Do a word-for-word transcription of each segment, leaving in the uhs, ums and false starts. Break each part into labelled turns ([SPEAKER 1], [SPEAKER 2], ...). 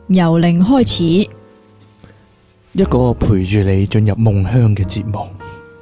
[SPEAKER 1] 由零開始，
[SPEAKER 2] 一個陪住你進入夢鄉嘅節目。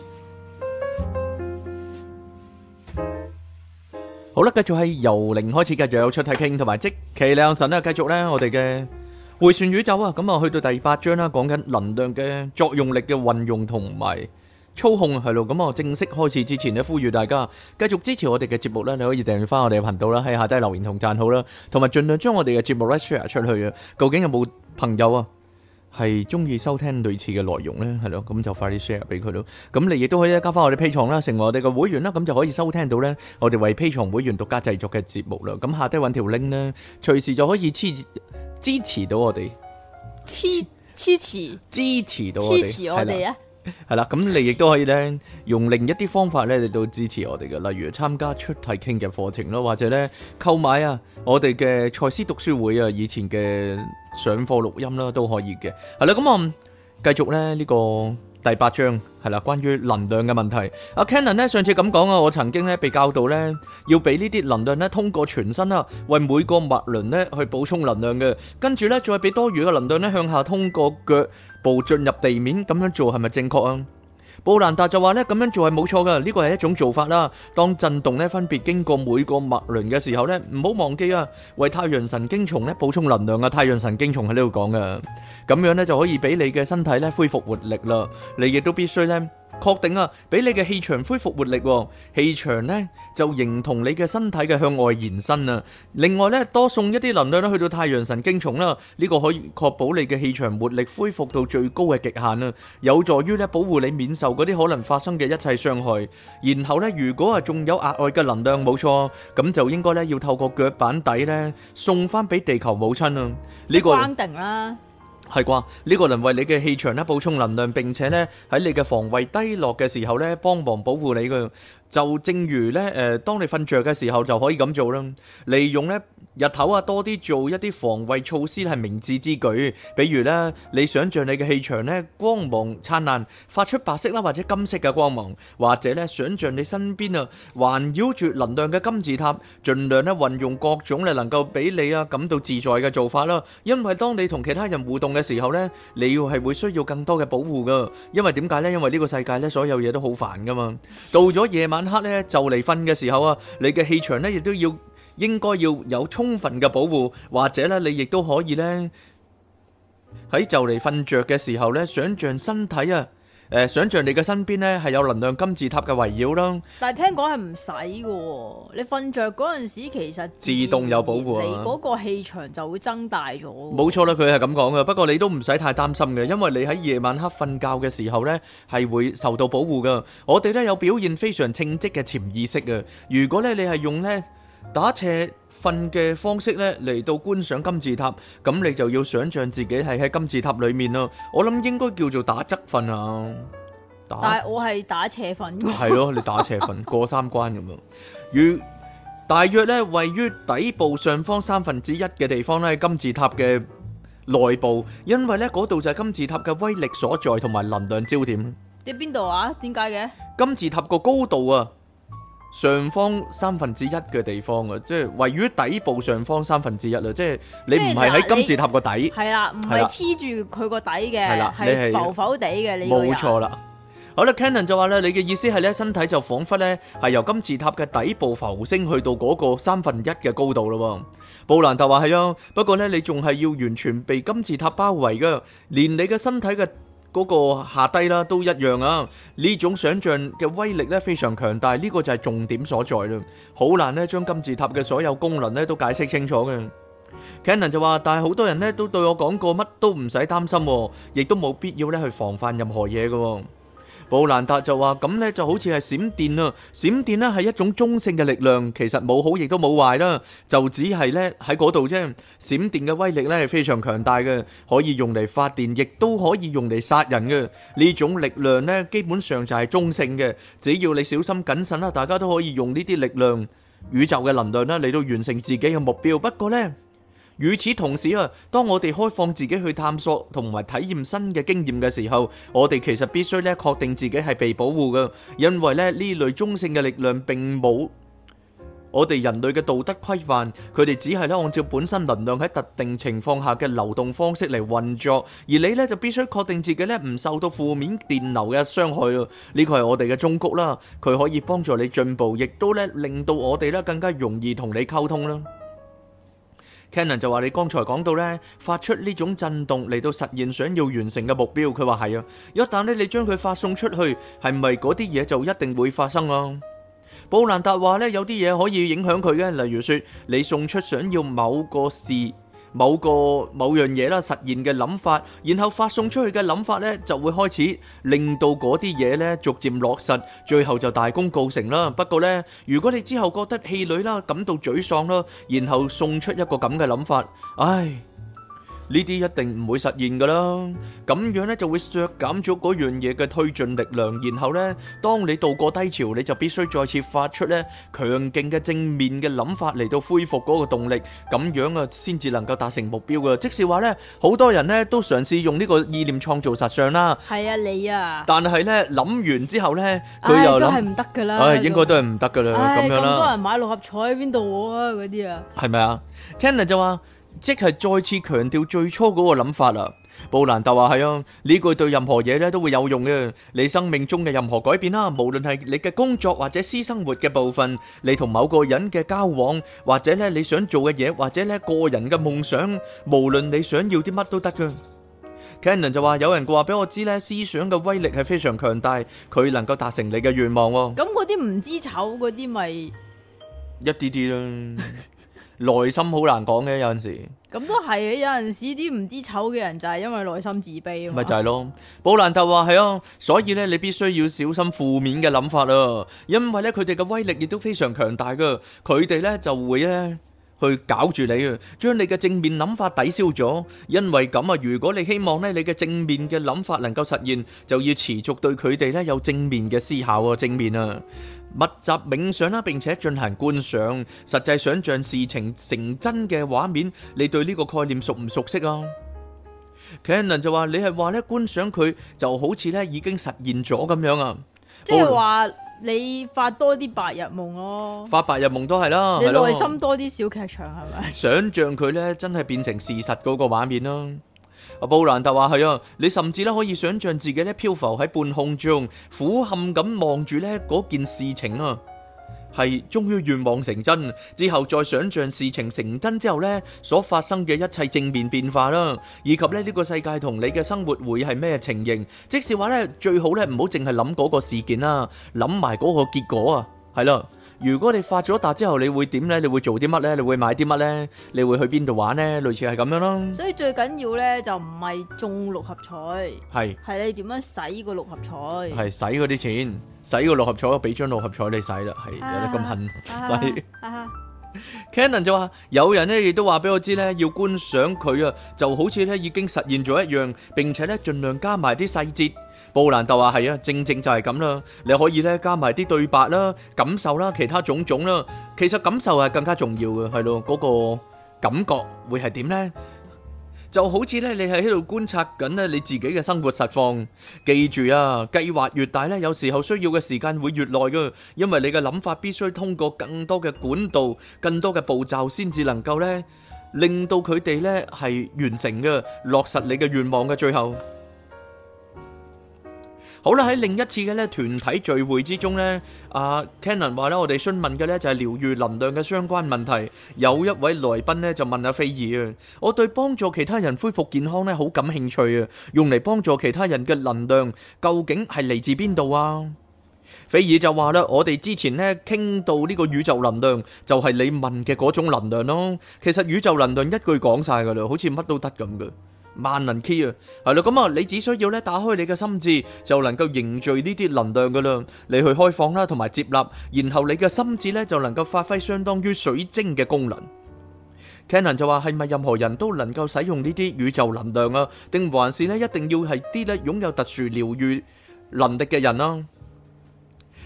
[SPEAKER 2] 好啦，繼續係由零開始，繼續有出體傾同埋即其兩神啦。繼續咧，我哋嘅迴旋宇宙啊，咁啊去到第八章啦，講緊能量嘅作用力嘅運用同埋操控係咯。咁啊正式開始之前咧，呼籲大家繼續支持我哋嘅節目咧，你可以訂閱翻我哋嘅頻道啦，喺下低留言同讚好啦，同埋盡量將我哋嘅節目咧 share 出去啊。究竟有冇朋友啊係中意收聽類似嘅內容呢？係咯，咁就快啲 share 俾佢咯。咁你亦都可以加翻我哋 Patreon啦，成為我哋嘅會員啦，咁就可以收聽到呢我哋為 Patreon 會員獨家製作嘅節目啦。咁下低揾條 link 呢，隨時就可以支支持到我哋，
[SPEAKER 1] 黐黐持
[SPEAKER 2] 支持到我哋，
[SPEAKER 1] 支持我哋啊！
[SPEAKER 2] 係啦，咁你亦都可以咧用另一啲方法咧嚟到支持我哋嘅，例如參加出體傾嘅課程咯，或者咧購買啊我哋嘅賽斯讀書會啊以前嘅上課錄音啦都可以嘅。係啦，咁我繼續咧呢個第八章係啦，關於能量嘅問題。阿 Cannon 咧上次咁講啊，我曾經咧被教導咧要俾呢啲能量咧通過全身啦，為每個脈輪咧去補充能量嘅，跟住咧再俾多餘嘅能量咧向下通過腳步進入地面，咁樣做係咪正確啊？布蘭達就話咧咁樣做係冇錯噶，呢個係一種做法啦。當震動咧分別經過每個脈輪嘅時候咧，唔好忘記啊，為太陽神經叢咧補充能量啊。太陽神經叢喺呢度講噶，咁樣咧就可以俾你嘅身體咧恢復活力啦。你亦都必須咧確定啊，俾你嘅氣場恢復活力，氣場咧就形同你嘅身體嘅向外延伸啊。另外咧，多送一啲能量咧去到太陽神經叢啦，呢個可以確保你嘅氣場活力恢復到最高嘅極限啊，有助於咧保護你免受嗰啲可能發生嘅一切傷害。然後咧，如果啊仲有額外嘅能量，冇錯，咁就應該咧要透過腳板底咧送翻俾地球母親啊。呢個
[SPEAKER 1] 關定啦。
[SPEAKER 2] 係啩？呢個能為你嘅氣場咧補充能量，並且咧喺你嘅防衛低落嘅時候咧幫忙保護你嘅。就正如咧誒，當你瞓着嘅時候就可以咁做啦。利用咧日頭啊多啲做一啲防衛措施係明智之舉。比如咧，你想像你嘅氣場咧光芒燦爛，發出白色啦或者金色嘅光芒，或者咧想像你身邊啊環繞住能量嘅金字塔，盡量咧運用各種咧能夠俾你啊感到自在嘅做法啦。因為當你同其他人互動嘅時候咧，你要係會需要更多嘅保護噶。因為點解咧？因為呢個世界咧所有嘢都好煩噶嘛。到咗夜晚黑咧就嚟瞓嘅時候啊，你嘅氣場咧亦都要應該要有充分嘅保護，或者咧你亦都可以咧喺就嚟瞓着嘅時候咧，想像身體啊誒，想像你嘅身邊咧係有能量金字塔嘅圍繞啦。
[SPEAKER 1] 但係聽講係唔使嘅，你瞓着嗰陣時其實
[SPEAKER 2] 自動有保護啊，
[SPEAKER 1] 你嗰個氣場就會增大咗。
[SPEAKER 2] 冇錯啦，佢係咁講嘅。不過你都唔使太擔心嘅，因為你喺夜晚黑瞓覺嘅時候咧係會受到保護噶。我哋咧有表現非常稱職嘅潛意識啊。如果咧你係用咧打斜瞓嘅方式咧嚟到觀賞金字塔，咁你就要想像自己係喺金字塔裏面啦。我諗應該叫做打側瞓啊。打
[SPEAKER 1] 但係我係打斜瞓嘅。
[SPEAKER 2] 係咯，你打斜瞓過三關咁樣。如大約咧位於底部上方三分之一嘅地方咧，金字塔嘅內部，因為咧嗰度就係金字塔嘅威力所在同埋能量焦點。
[SPEAKER 1] 喺邊度啊？點解嘅？
[SPEAKER 2] 金字塔個高度啊，上方三分之一嘅地方啊，即係位於底部上方三分之一啊，即係你唔係喺金字塔個底，
[SPEAKER 1] 係啦，唔係黐住佢個底嘅，
[SPEAKER 2] 係啦，
[SPEAKER 1] 係浮浮地嘅。你
[SPEAKER 2] 冇錯啦。好啦 ，Cannon 就話咧，你嘅意思係咧，身體就彷彿咧係由金字塔嘅底部浮升去到嗰個三分一嘅高度咯。布蘭特話係啊，不過咧你仲係要完全被金字塔包圍噶，連你嘅身體嘅嗰個下低啦都一樣啊！呢種想像嘅威力咧非常強大，呢個就係重點所在啦。好難咧將金字塔嘅所有功能咧都解釋清楚嘅。Cannon 就話，但係好多人咧都對我講過，乜都唔使擔心，亦都冇必要咧去防範任何嘢嘅。布蘭達就話，咁咧就好似係閃電啊！閃電咧係一種中性嘅力量，其實冇好亦都冇壞啦，就只係咧喺嗰度啫。閃電嘅威力咧係非常強大嘅，可以用嚟發電，亦都可以用嚟殺人嘅。呢種力量咧基本上就係中性嘅，只要你小心謹慎啦，大家都可以用呢啲力量、宇宙嘅能量啦嚟到完成自己嘅目標。不過咧，與此同時啊，當我哋開放自己去探索同埋體驗新嘅經驗嘅時候，我哋其實必須咧確定自己係被保護嘅，因為咧呢類中性嘅力量並冇我哋人類嘅道德規範，佢哋只係咧按照本身能量喺特定情況下嘅流動方式嚟運作，而你咧就必須確定自己咧唔受到負面電流嘅傷害咯。呢個係我哋嘅忠告啦，佢可以幫助你進步，亦都咧令到我哋咧更加容易同你溝通啦。Cannon 就話你剛才講到咧，發出呢種震動嚟到實現想要完成嘅目標，佢話係啊，一旦咧你將佢發送出去，係咪嗰啲嘢就一定會發生啊？布蘭達話咧，有啲嘢可以影響佢嘅，例如說你送出想要某個事、某個某樣嘢啦實現嘅諗法，然後發送出去嘅諗法咧就會開始令到嗰啲嘢咧逐漸落實，最後就大功告成啦。不過咧，如果你之後覺得氣餒啦，感到沮喪啦，然後送出一個咁嘅諗法，唉。呢啲一定唔會實現噶啦，咁樣咧就會削減咗嗰樣嘢嘅推進力量，然後咧，當你渡過低潮，你就必須再次發出咧強勁嘅正面嘅諗法嚟到恢復嗰個動力，咁樣啊先至能夠達成目標噶。即是話咧，好多人咧都嘗試用呢個意念創造實相啦。
[SPEAKER 1] 係啊，你啊。
[SPEAKER 2] 但係咧諗完之後咧，佢又諗，
[SPEAKER 1] 都係唔得噶啦。
[SPEAKER 2] 唉，應該都係唔得噶啦，咁樣啦。
[SPEAKER 1] 咁多人買六合彩喺邊度啊？嗰啲啊。係
[SPEAKER 2] 咪啊 Cannon 就話。即係再次強調最初嗰個諗法啦。布蘭特話係啊，呢句對任何嘢咧都會有用嘅。你生命中嘅任何改變啦，無論係你嘅工作或者私生活嘅部分，你同某個人嘅交往，或者咧你想做嘅嘢，或者咧個人嘅夢想，無論你想要啲乜都得噶。Cannon 就話有人話俾我知咧，思想嘅威力係非常強大，佢能夠達成你嘅願望。
[SPEAKER 1] 咁嗰啲唔知醜嗰啲咪
[SPEAKER 2] 一啲啲啦。內心好難講嘅，有陣時
[SPEAKER 1] 咁都係嘅。有陣時啲唔知醜嘅人就係因為內心自卑啊嘛。
[SPEAKER 2] 咪就係咯。布蘭特話係啊，所以咧你必須要小心負面嘅諗法啊，因為咧佢哋嘅威力亦都非常強大噶。佢哋咧就會咧去搞住你啊，將你嘅正面諗法抵消咗。因為咁啊，如果你希望咧你嘅正面嘅諗法能夠實現，就要持續對佢哋咧有正面嘅思考啊，正面啊。密集冥想啦，並且進行觀想，實際想像事情成真嘅畫面。你對呢個概念熟唔熟悉啊 Cannon 就話你係話咧觀想佢就好似咧已經實現咗咁樣啊，
[SPEAKER 1] 即係話你發多啲白日夢咯，
[SPEAKER 2] 發白日夢都係啦，
[SPEAKER 1] 你內心多啲小劇場係咪？
[SPEAKER 2] 想像佢咧真係變成事實嗰個畫面啦。阿布蘭特話係啊，你甚至咧可以想象自己咧漂浮喺半空中，俯瞰咁望住咧嗰件事情啊，係終於願望成真之後，再想象事情成真之後咧所發生嘅一切正面變化啦，以及咧呢個世界同你嘅生活會係咩情形。即是話咧最好咧唔好淨係諗嗰個事件啦，諗埋嗰個結果啊，係啦。如果你發咗達之後，你會點呢？你會做啲乜呢？你會買啲乜呢？你會去邊度玩呢？類似係咁樣咯。
[SPEAKER 1] 所以最緊要呢，就唔係中六合彩，
[SPEAKER 2] 係
[SPEAKER 1] 係你點樣使個六合彩，
[SPEAKER 2] 係使嗰啲錢，使個六合彩，我俾張六合彩你使啦，係有得咁恨使。Cannon 就話有人呢亦都話俾我知呢，要觀想佢啊，就好似呢已經實現咗一樣，並且呢盡量加埋啲細節。布蘭特話係啊，正正就係咁啦。你可以咧加埋啲對白啦、感受啦、其他種種啦。其實感受係更加重要嘅，係咯，嗰個感覺會係點呢？就好似咧，你係喺度觀察緊咧你自己嘅生活實況。記住啊，計劃越大咧，有時候需要嘅時間會越耐噶，因為你嘅諗法必須通過更多嘅管道、更多嘅步驟，先至能夠咧令到佢哋咧係完成嘅，落實你嘅願望嘅最後。好啦，喺另一次嘅咧團體聚會之中咧，阿 Cannon 話咧，我哋詢問嘅咧就係療愈能量嘅相關問題。有一位來賓咧就問阿菲爾啊，我對幫助其他人恢復健康咧好感興趣啊，用嚟幫助其他人嘅能量究竟係嚟自邊度啊？菲爾就話啦，我哋之前咧傾到呢個宇宙能量，就係你問嘅嗰種能量咯。其實宇宙能量一句講晒噶啦，好似乜都得咁嘅。萬能 key 啊，係咯，咁啊，你只需要咧打開你嘅心智，就能夠凝聚呢啲能量噶啦。你去開放啦，同埋接納，然後你嘅心智咧就能夠發揮相當於水晶嘅功能。Cannon 就話係咪任何人都能夠使用呢啲宇宙能量啊？定還是咧一定要係啲咧擁有特殊療愈能力嘅人啊？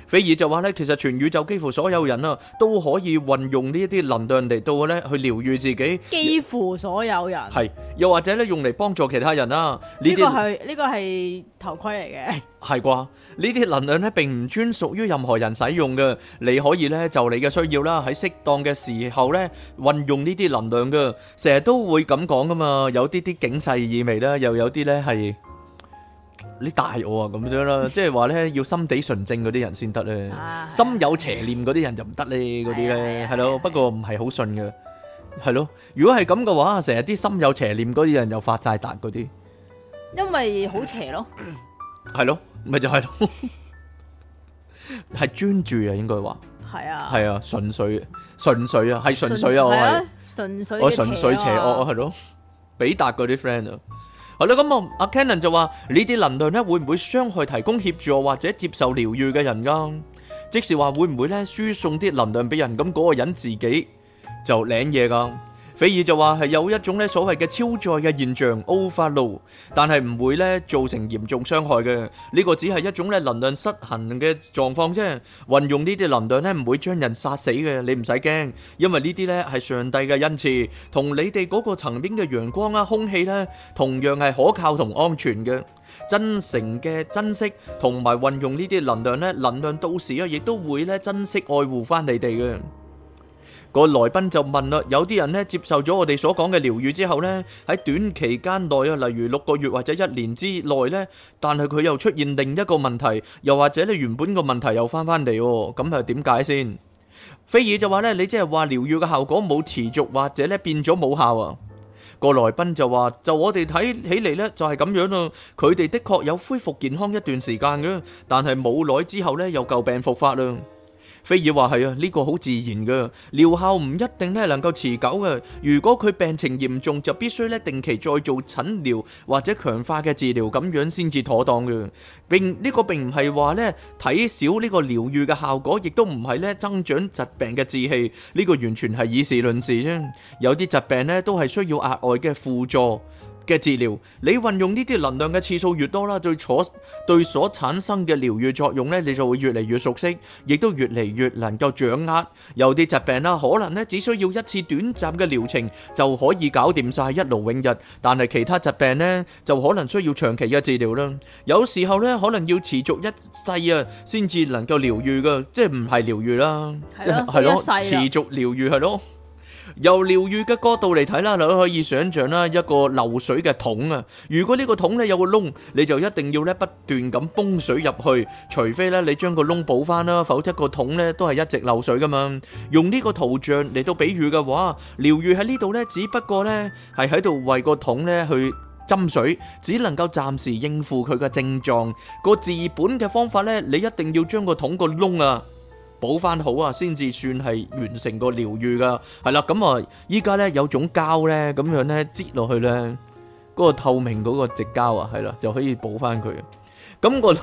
[SPEAKER 2] 菲爾就話咧，其實全宇宙幾乎所有人啊，都可以運用呢一啲能量嚟到咧去療愈自己。
[SPEAKER 1] 幾乎所有人
[SPEAKER 2] 係，又或者咧用嚟幫助其他人啦。
[SPEAKER 1] 呢個係呢個係頭盔嚟嘅。
[SPEAKER 2] 係啩？呢啲能量咧並唔專屬於任何人使用嘅，你可以咧就你嘅需要啦，喺適當嘅時候咧運用呢啲能量嘅。成日都會咁講噶嘛，有啲啲警世意味啦，又有啲咧係。你大我啊咁樣啦，即係話咧要心地純正嗰啲人先得咧，啊、心有邪念嗰啲人就唔得咧，嗰啲咧係咯，不過唔係好信嘅，係咯。如果係咁嘅話，成日啲心有邪念嗰啲人又發晒達嗰啲，
[SPEAKER 1] 因為好邪咯，
[SPEAKER 2] 係咯，咪就係咯，係專注啊，應該話
[SPEAKER 1] 係啊，
[SPEAKER 2] 係啊，純粹純粹啊，係純粹啊，我係
[SPEAKER 1] 純粹
[SPEAKER 2] 我純粹邪惡啊，係咯，比達嗰啲 friend 啊。係啦，咁啊，阿 Cannon 就話呢啲能量咧會唔會傷害提供協助或者接受療愈嘅人噶？即是話會唔會咧輸送啲能量俾人，咁嗰個人自己就領嘢噶？菲爾就話係有一種咧所謂嘅超載嘅現象 overload， 但係唔會咧造成嚴重傷害嘅。呢個只係一種咧能量失衡嘅狀況啫。運用呢啲能量咧唔會將人殺死嘅，你唔使驚，因為呢啲咧係上帝嘅恩賜，同你哋嗰個層面嘅陽光啊、空氣咧，同樣係可靠同安全嘅。真誠嘅珍惜同埋運用呢啲能量咧，能量到時啊，亦都會咧珍惜愛護翻你哋嘅。個來賓就問啦，有啲人咧接受咗我哋所講嘅療愈之後咧，喺短期間內啊，例如六個月或者一年之內咧，但係佢又出現另一個問題，又或者咧原本個問題又翻翻嚟，咁係點解先？菲爾就話咧，你即係話療愈嘅效果冇持續或者咧變咗冇效啊？個來賓就話，就我哋睇起嚟咧就係咁樣咯，佢哋的確有恢復健康一段時間嘅，但係冇耐之後咧又舊病復發啦。菲爾話係啊，呢個好自然嘅，療效唔一定咧能夠持久嘅。如果佢病情嚴重，就必須咧定期再做診療或者強化嘅治療，咁樣先至妥當嘅。並呢個並唔係話咧睇少呢個療愈嘅效果，亦都唔係咧增長疾病嘅志氣。呢個完全係以事論事啫。有啲疾病咧都係需要額外嘅輔助嘅治療，你運用呢啲能量嘅次數越多啦，對所對所產生嘅療愈作用咧，你就會越嚟越熟悉，亦都越嚟越能夠掌握。有啲疾病啦，可能咧只需要一次短暫嘅療程就可以搞掂晒，一勞永逸，但係其他疾病咧就可能需要長期嘅治療啦。有時候咧可能要持續一世啊，先至能夠療愈噶，即係唔係療愈啦，
[SPEAKER 1] 係咯，
[SPEAKER 2] 係咯，
[SPEAKER 1] 一世啦，
[SPEAKER 2] 持續療愈係咯。由療愈嘅角度嚟睇啦，你都可以想象啦，一個漏水嘅桶啊。如果呢個桶咧有個窿，你就一定要咧不斷咁泵水入去，除非咧你將個窿補翻啦，否則個桶咧都係一直漏水噶嘛。用呢個圖像嚟到比喻嘅話，療愈喺呢度咧，只不過咧係喺度為個桶咧去斟水，只能夠暫時應付佢嘅症狀。個治本嘅方法咧，你一定要將個桶個窿啊補翻好啊，先至算係完成個療愈噶。係啦，咁啊，依家咧有種膠咧，咁樣咧擠落去咧，嗰個透明嗰個直膠啊，係啦，就可以補翻佢。咁個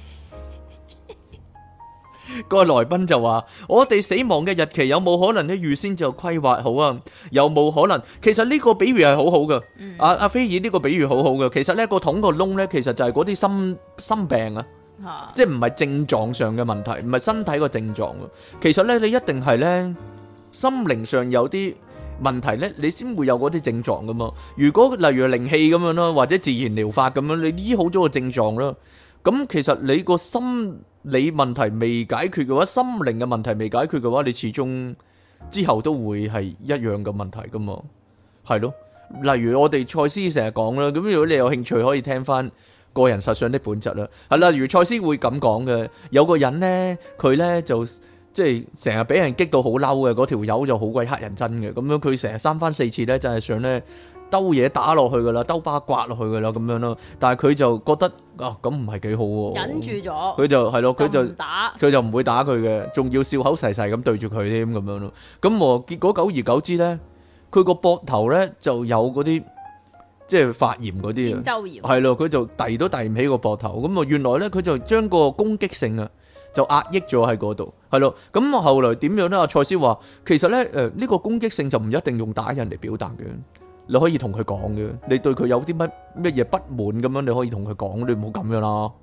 [SPEAKER 2] 個來賓就話：我哋死亡嘅日期有冇可能咧預先就規劃好啊？有冇可能？其實呢個比喻係好好噶。阿阿菲爾呢個比喻好好噶。其實咧個桶個窿咧，其實就係嗰啲心心病啊。即係唔係症狀上嘅問題，唔係身體個症狀。其實咧，你一定係咧心靈上有啲問題咧，你先會有嗰啲症狀噶嘛。如果例如靈氣咁樣咯，或者自然療法咁樣，你醫好咗個症狀啦。咁其實你個心理問題未解決嘅話，心靈嘅問題未解決嘅話，你始終之後都會係一樣嘅問題噶嘛。係咯，例如我哋賽斯成日講啦，咁如果你有興趣可以聽翻個人實相的本質啦，係啦，如賽斯會咁講嘅，有個人咧，佢咧就即係成日俾人激到好嬲嘅，嗰條友就好鬼乞人憎嘅，咁樣佢成日三番四次咧，真係想咧兜嘢打落去噶啦，兜巴刮落去噶啦，咁樣咯，但係佢就覺得啊，咁唔係幾好喎，忍住咗，佢就係咯，佢就打，佢就唔會打佢嘅，仲要笑口噬噬咁對住佢添咁樣咯，咁我結果久而久之咧，佢個膊頭咧就有嗰啲。即係發炎嗰啲啊，係咯，佢就遞都遞唔起個膊頭，咁啊原來咧佢就將個攻擊性啊就壓抑咗喺嗰度，係咯，咁後來點樣咧？阿賽斯話其實咧誒呢個攻擊性就唔一定用打人嚟表達嘅，你可以同佢講嘅，你對佢有啲乜乜嘢不滿咁樣，你可以同佢講，你唔好咁樣啦，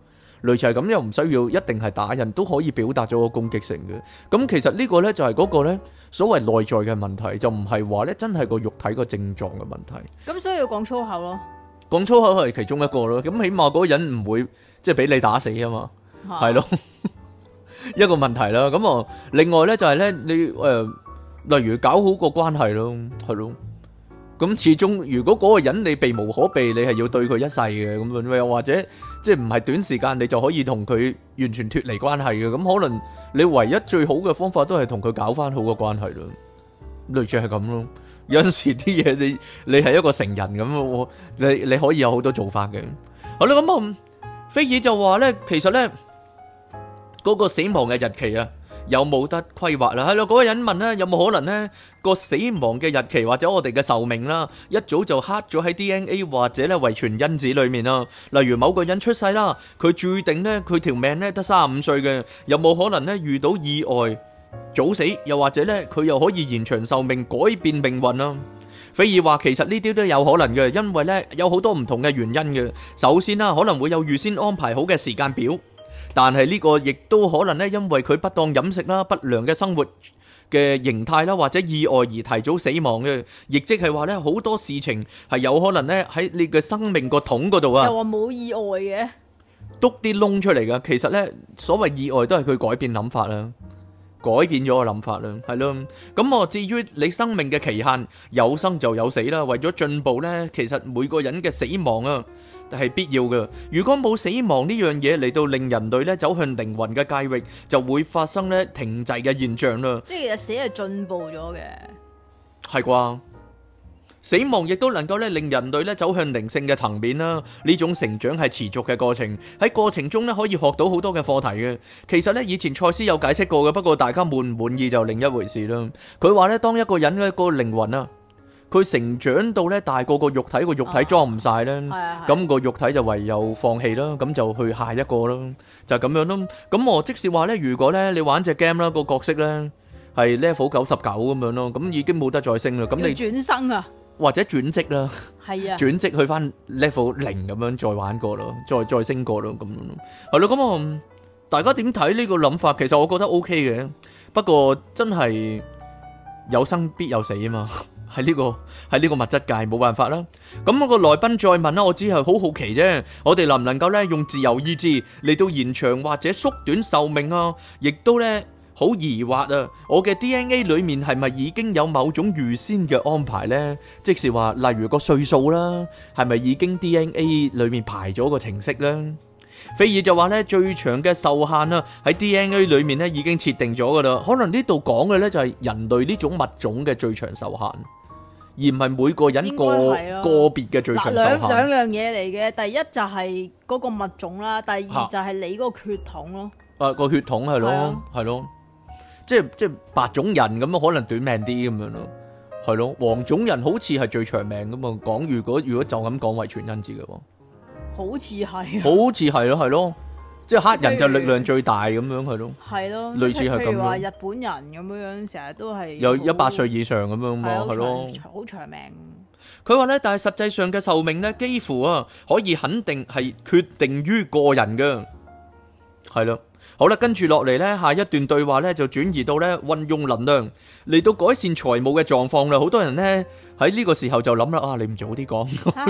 [SPEAKER 2] 類似係咁，又唔需要一定係打人都可以表達咗個攻擊性嘅。咁其實呢個呢，就係嗰個呢所謂內在嘅問題，就唔係話呢真係個肉體個症狀嘅問題。
[SPEAKER 1] 咁所以要講粗口咯，
[SPEAKER 2] 講粗口係其中一個咯。咁起碼嗰個人唔會即係俾你打死啊嘛，係咯，一個問題啦。咁啊，另外呢，就係呢，你誒、呃，例如搞好個關係咯，係咯。咁始終如果嗰個人你避無可避，你係要對佢一世嘅，咁樣又或者即係唔係短時間你就可以同佢完全脫離關係嘅，咁可能你唯一最好嘅方法都係同佢搞翻好個關係咯，類似係咁咯。有陣時啲嘢你你係一個成人咁，我你你可以有好多做法嘅。好啦，咁啊，菲爾就話咧，其實咧嗰個死亡嘅日期啊，有冇得規劃啦？係咯，嗰個人問咧，有冇可能咧個死亡嘅日期或者我哋嘅壽命啦，一早就刻咗喺 D N A 或者咧遺傳因子裏面啦？例如某個人出世啦，佢注定咧佢條命咧得三十五歲嘅，有冇可能咧遇到意外早死？又或者咧佢又可以延長壽命，改變命運啊？菲爾話其實呢啲都有可能嘅，因為咧有好多唔同嘅原因嘅。首先啦，可能會有預先安排好嘅時間表。但係呢個亦都可能咧，因為佢不當飲食啦、不良嘅生活嘅形態啦，或者意外而提早死亡嘅，亦即係話咧好多事情係有可能咧喺你嘅生命個桶嗰度啊，
[SPEAKER 1] 又話冇意外嘅，
[SPEAKER 2] 篤啲窿出嚟噶。其實咧所謂意外都係佢改變諗法啦，改變咗個諗法啦，係咯。咁我至於你生命嘅期限，有生就有死啦。為咗進步咧，其實每個人嘅死亡啊係必要嘅。如果冇死亡呢樣嘢嚟到令人類咧走向靈魂嘅界域，就會發生咧停滯嘅現象啦。
[SPEAKER 1] 即係其實死係進步咗嘅，
[SPEAKER 2] 係啩？死亡亦都能夠咧令人類咧走向靈性嘅層面啦。呢種成長係持續嘅過程，喺過程中咧可以學到好多嘅課題嘅。其實咧以前賽斯有解釋過嘅，不過大家滿唔滿意就另一回事啦。佢話咧當一個人嘅個靈魂啊，佢成長到咧大過個肉體，個肉體裝唔晒咧，咁個肉體就唯有放棄啦，咁就去下一個咯，就咁樣咯。咁我即是話咧，如果咧你玩隻 game 啦，個角色咧係 level 九十九咁樣咯，咁已經冇得再升啦。咁你
[SPEAKER 1] 轉生啊，或
[SPEAKER 2] 者轉職啦，
[SPEAKER 1] 係啊，
[SPEAKER 2] 轉職去翻 level 零咁樣再玩過咯，再再升過咯，咁樣咯，係咯。咁啊，大家點睇呢個諗法？其實我覺得 OK 嘅，不過真係有生必有死啊嘛。喺呢個喺呢個物質界冇辦法啦。咁我個來賓再問啦，我只係好好奇啫。我哋能唔能夠咧用自由意志嚟到延長或者縮短壽命啊？亦都咧好疑惑啊！我嘅 D N A 裏面係咪已經有某種預先嘅安排呢？即是話，例如個歲數啦，係咪已經 D N A 裏面排咗個程式呢？菲爾就話咧，最長嘅壽限啊，喺 D N A 裏面咧已經設定咗噶啦。可能呢度講嘅咧就係人類呢種物種嘅最長壽限。而唔係每個人個個別嘅最長壽限。
[SPEAKER 1] 兩兩樣嘢嚟嘅，第一就係嗰個物種啦，第二就係你嗰個血統咯。
[SPEAKER 2] 啊，個血統係咯，係咯，即係即係白種人咁啊，可能短命啲咁樣咯，係咯。黃種人好似係最長命咁啊。講如果如果就咁講遺傳因子嘅喎，
[SPEAKER 1] 好似係，
[SPEAKER 2] 好似係咯，係咯。即係黑人就力量最大咁樣係咯，
[SPEAKER 1] 係咯，
[SPEAKER 2] 類似係咁樣。
[SPEAKER 1] 譬如話日本人咁樣樣，成日都係
[SPEAKER 2] 有一百歲以上咁樣嘛，係咯，
[SPEAKER 1] 好長命。
[SPEAKER 2] 佢話咧，但係實際上嘅壽命咧，幾乎啊可以肯定係決定於個人嘅，係咯。好啦，跟住落嚟咧，下一段對話咧就轉移到咧運用能量嚟到改善財務嘅狀況啦。好多人咧喺呢個時候就諗啦，啊，你唔早啲講。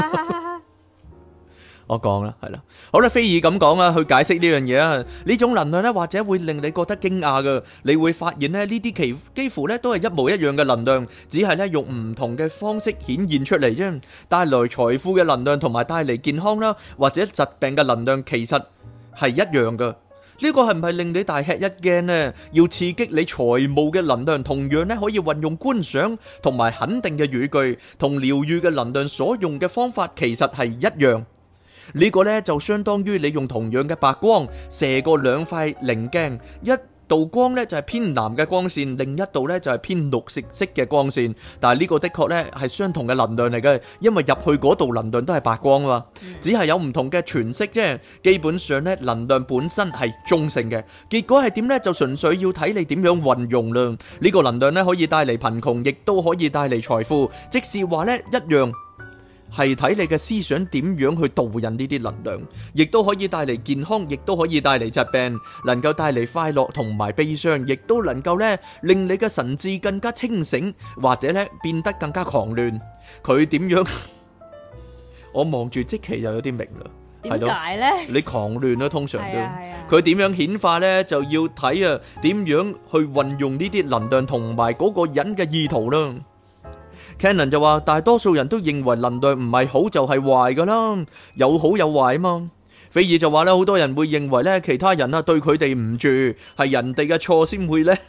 [SPEAKER 2] 我講啦，係啦，好啦，菲爾咁講啊，去解釋呢樣嘢啊，呢種能量咧，或者會令你覺得驚訝噶，你會發現咧，呢啲幾幾乎咧都係一模一樣嘅能量，只係咧用唔同嘅方式顯現出嚟啫。帶來財富嘅能量同埋帶嚟健康啦，或者疾病嘅能量，其實係一樣噶。呢個係唔係令你大吃一驚呢？要刺激你財務嘅能量，同樣咧可以運用觀賞同埋肯定嘅語句，同療愈嘅能量所用嘅方法其實係一樣。呢個呢就相當於你用同樣嘅白光射過兩塊棱鏡，一道光呢就係偏藍嘅光線，另一道呢就係偏綠色色嘅光線。但係呢個的確呢係相同嘅能量嚟嘅，因為入去嗰度能量都係白光嘛，只係有唔同嘅詮釋啫。基本上呢能量本身係中性嘅，結果係點呢就純粹要睇你點樣運用啦。呢個能量呢可以帶嚟貧窮，亦都可以帶嚟財富，即是話呢一樣。 係睇你嘅思想點樣去導引呢啲能量，亦都可以帶嚟健康，亦都可以帶嚟疾病，能夠帶嚟快樂同埋悲傷，亦都能夠咧令你嘅神智更加清醒，或者咧變得更加狂亂。佢點樣？我望住即期就有啲明啦。
[SPEAKER 1] 點解呢？
[SPEAKER 2] 你狂亂啦，通常都
[SPEAKER 1] 係啊係啊
[SPEAKER 2] 佢點樣顯化呢？就要睇啊點樣去運用呢啲能量同埋嗰個人嘅意圖啦。Cannon 就話，大多數人都認為能量唔係好就係壞噶啦，有好有壞啊嘛。菲爾就話咧，好多人會認為咧，其他人啊對佢哋唔住，係人哋嘅錯先會咧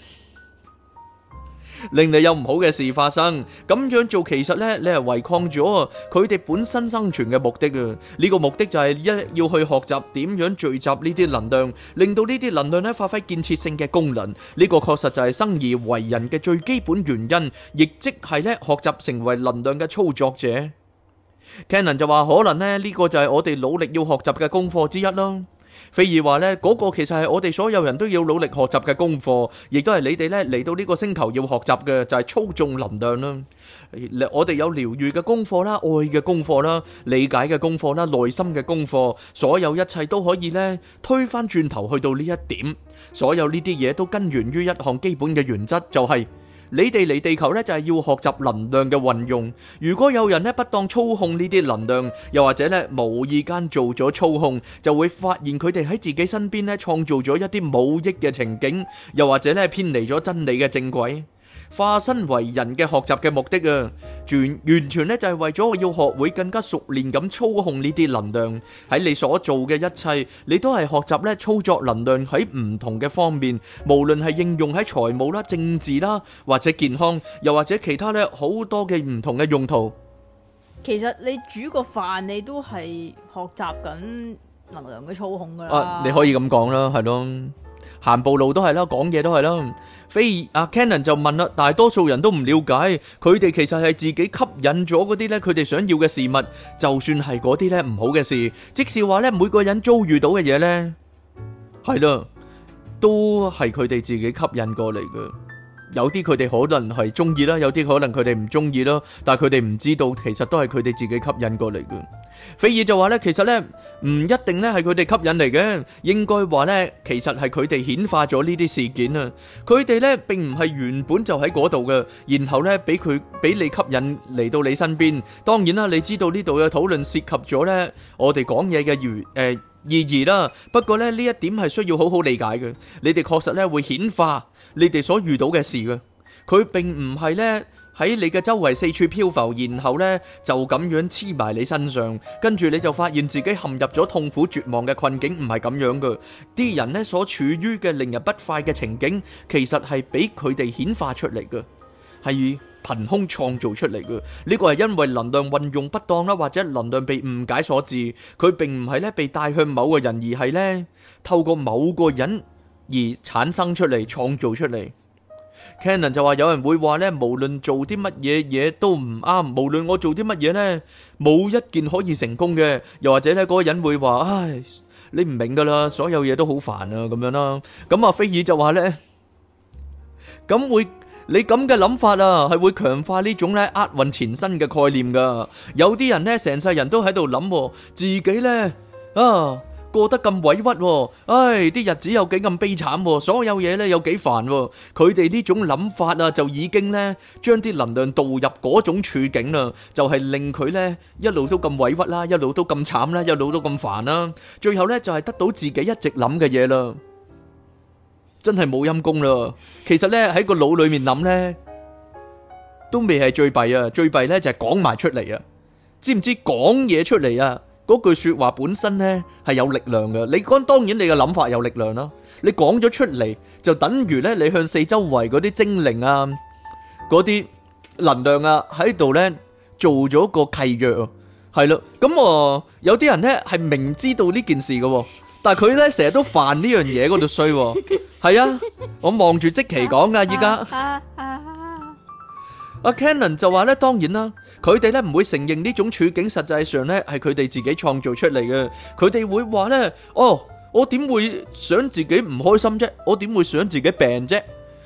[SPEAKER 2] 令你有唔好嘅事發生。咁樣做其實咧，你係違抗咗佢哋本身生存嘅目的啊！呢個目的就係一要去學習點樣聚集呢啲能量，令到呢啲能量咧發揮建設性嘅功能。呢個確實就係生而為人嘅最基本原因，亦即係咧學習成為能量嘅操作者。Cannon 就話，可能咧呢個就係我哋努力要學習嘅功課之一啦。菲爾話呢嗰個其實係我哋所有人都要努力學習嘅功課，亦都係你哋呢嚟到呢個星球要學習嘅，就係操縱能量啦。我哋有療愈嘅功課啦，愛嘅功課啦，理解嘅功課啦，內心嘅功課，所有一切都可以呢推翻轉頭去到呢一點。所有呢啲嘢都根源於一項基本嘅原則，就係你哋嚟地球咧，就係要學習能量嘅運用。如果有人咧不當操控呢啲能量，又或者咧無意間做咗操控，就會發現佢哋喺自己身邊咧創造咗一啲冇益嘅情景，又或者咧偏離咗真理嘅正軌。化身為人嘅學習嘅目的啊，完完全咧就係為咗要學會更加熟練咁操控呢啲能量。喺你所做嘅一切，你都係學習咧操作能量喺唔同嘅方面，無論係應用喺財務啦、政治啦，或者健康，又或者其他咧好多嘅唔同嘅用途。
[SPEAKER 1] 其實你煮個飯，你都係學習緊能量嘅操控噶啦。
[SPEAKER 2] 啊，你可以咁講啦，係咯。行步路都係啦，講嘢都係啦。菲阿 Cannon 就問啦，大多數人都唔了解，佢哋其實係自己吸引咗嗰啲咧，佢哋想要嘅事物，就算係嗰啲咧唔好嘅事，即是話咧每個人遭遇到嘅嘢咧，係啦，都係佢哋自己吸引過嚟嘅。有啲佢哋可能係中意啦，有啲可能佢哋唔中意啦，但係佢哋唔知道，其實都係佢哋自己吸引過嚟嘅。菲爾就話咧，其實咧唔一定咧係佢哋吸引嚟嘅，應該話咧其實係佢哋顯化咗呢啲事件啊。佢哋咧並唔係原本就喺嗰度嘅，然後咧俾佢俾你吸引嚟到你身邊。當然啦，你知道呢度嘅討論涉及咗咧我哋講嘢嘅語誒意義啦。不過咧呢一點係需要好好理解嘅。你哋確實咧會顯化你哋所遇到嘅事嘅，佢並唔係咧喺你嘅周圍四處漂浮，然後咧就咁樣黐埋你身上，跟住你就發現自己陷入咗痛苦絕望嘅困境，唔係咁樣嘅。啲人咧所處於嘅令人不快嘅情景，其實係俾佢哋顯化出嚟嘅，係憑空創造出嚟嘅。呢個係因為能量運用不當啦，或者能量被誤解所致。佢並唔係咧被帶向某個人，而係咧透過某個人而產生出嚟、創造出嚟。Cannon 就話，有人會話咧，無論做啲乜嘢嘢都唔啱，無論我做啲乜嘢咧，冇一件可以成功嘅。又或者咧，嗰個人會話，唉，你唔明噶啦，所有嘢都好煩啊，咁樣啦。咁阿菲爾就話咧，咁會你咁嘅諗法啊，係會強化呢種咧厄運纏身嘅概念噶。有啲人咧，成世人都喺度諗自己咧啊。過得咁委屈，唉，啲日子有幾咁悲慘，所有嘢咧有幾煩，佢哋呢種諗法啊，就已經咧將啲能量導入嗰種處境啦，就係令佢咧一路都咁委屈啦，一路都咁慘啦，一路都咁煩啦，最後咧就係得到自己一直諗嘅嘢啦，真係冇陰功啦。其實咧喺個腦裏面諗咧，都未係最弊啊，最弊咧就係講埋出嚟啊，知唔知講嘢出嚟啊？嗰句說話本身呢係有力量嘅，你講當然你嘅諗法有力量啦，你講咗出嚟就等於呢，你向四周圍嗰啲精靈啊、嗰啲能量啊喺度呢做咗個契約，係咯，咁啊有啲人呢係明知道呢件事嘅，但係佢呢成日都犯呢樣嘢嗰度衰，係啊，我望住即期講噶依家。阿 Cannon 就話咧，當然啦，佢哋咧唔會承認呢種處境實際上咧係佢哋自己創造出嚟嘅。佢哋會話咧，哦，我點會想自己唔開心啫？我點會想自己病啫？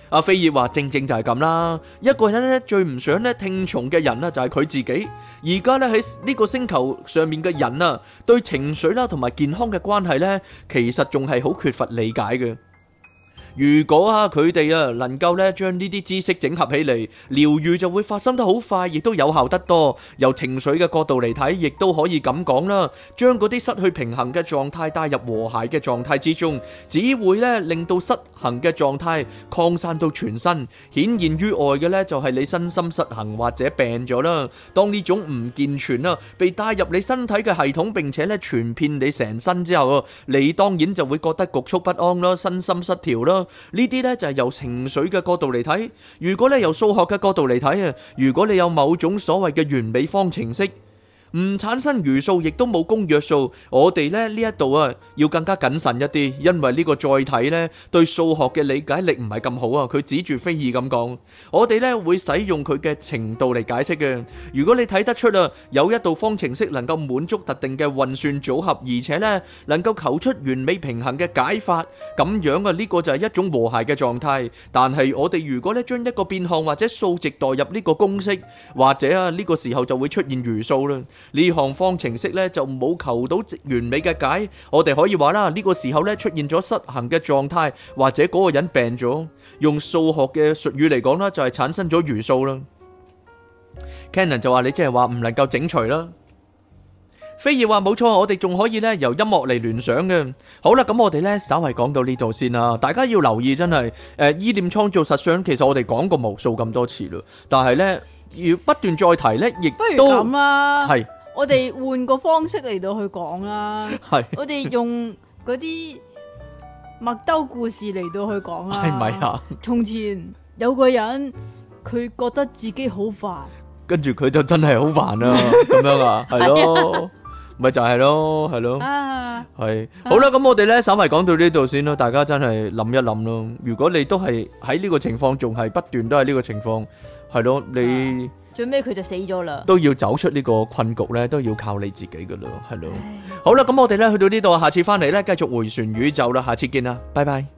[SPEAKER 2] 阿菲爾話正正就係咁啦，一個人咧最唔想咧聽從嘅人啊就係佢自己。而家咧喺呢個星球上面嘅人啊，對情緒啦同埋健康嘅關係咧，其實仲係好缺乏理解嘅。如果啊佢哋啊能夠咧將呢啲知識整合起嚟，療愈就會發生得好快，亦都有效得多。由情緒嘅角度嚟睇，亦都可以咁講啦，將嗰啲失去平衡嘅狀態帶入和諧嘅狀態之中，只會咧令到失衡嘅狀態擴散到全身。顯現於外嘅咧就係你身心失衡或者病咗啦。當呢種唔健全啊被帶入你身體嘅系統，並且咧傳遍你成身之後，你當然就會覺得局促不安啦，身心失調啦。呢啲呢就係由情緒嘅角度嚟睇。如果你由數學嘅角度嚟睇啊，如果你有某種所謂嘅完美方程式，唔產生餘數，亦都冇公約數，我哋咧呢一度啊要更加謹慎一啲，因為呢個載體呢對數學嘅理解力唔係咁好啊。佢指住菲爾咁講，我哋呢會使用佢嘅程度嚟解釋嘅。如果你睇得出啊有一道方程式能夠滿足特定嘅運算組合，而且呢能夠求出完美平衡嘅解法，咁樣啊呢個就係一種和諧嘅狀態。但係我哋如果呢將一個變項或者數值代入呢個公式，或者啊呢個時候就會出現餘數啦。呢項方程式咧就冇求到完美嘅解，我哋可以話啦，呢個時候咧出現咗失衡嘅狀態，或者嗰個人病咗，用數學嘅術語嚟講啦，就係產生咗餘數啦。Cannon 就話你即係話唔能夠整除啦。菲爾話冇錯，我哋仲可以咧由音樂嚟聯想嘅。好啦，咁我哋咧稍為講到呢度先啦，大家要留意真係誒意念創造實相，其實我哋講過無數咁多次啦，但係咧要不斷再提咧，亦都
[SPEAKER 1] 不如咁啦，
[SPEAKER 2] 係。
[SPEAKER 1] 我哋換個方式嚟到去講啦，
[SPEAKER 2] 係
[SPEAKER 1] 我哋用嗰啲麥兜故事嚟到去講啦，
[SPEAKER 2] 係咪啊？
[SPEAKER 1] 從前有個人，佢覺得自己好煩，
[SPEAKER 2] 跟住佢就真係好煩啊，咁樣啊，係咯，咪就係咯，係咯，係好啦，咁我哋咧稍微講到呢度先咯，大家真係諗一諗咯。如果你都係喺呢個情況，仲係不斷都係呢個情況，係咯，你。
[SPEAKER 1] 最尾佢就死咗啦，
[SPEAKER 2] 都要走出呢個困局咧，都要靠你自己噶啦，係咯。好啦，咁我哋咧去到呢度，下次翻嚟咧繼續回旋宇宙啦，下次見啦，拜拜。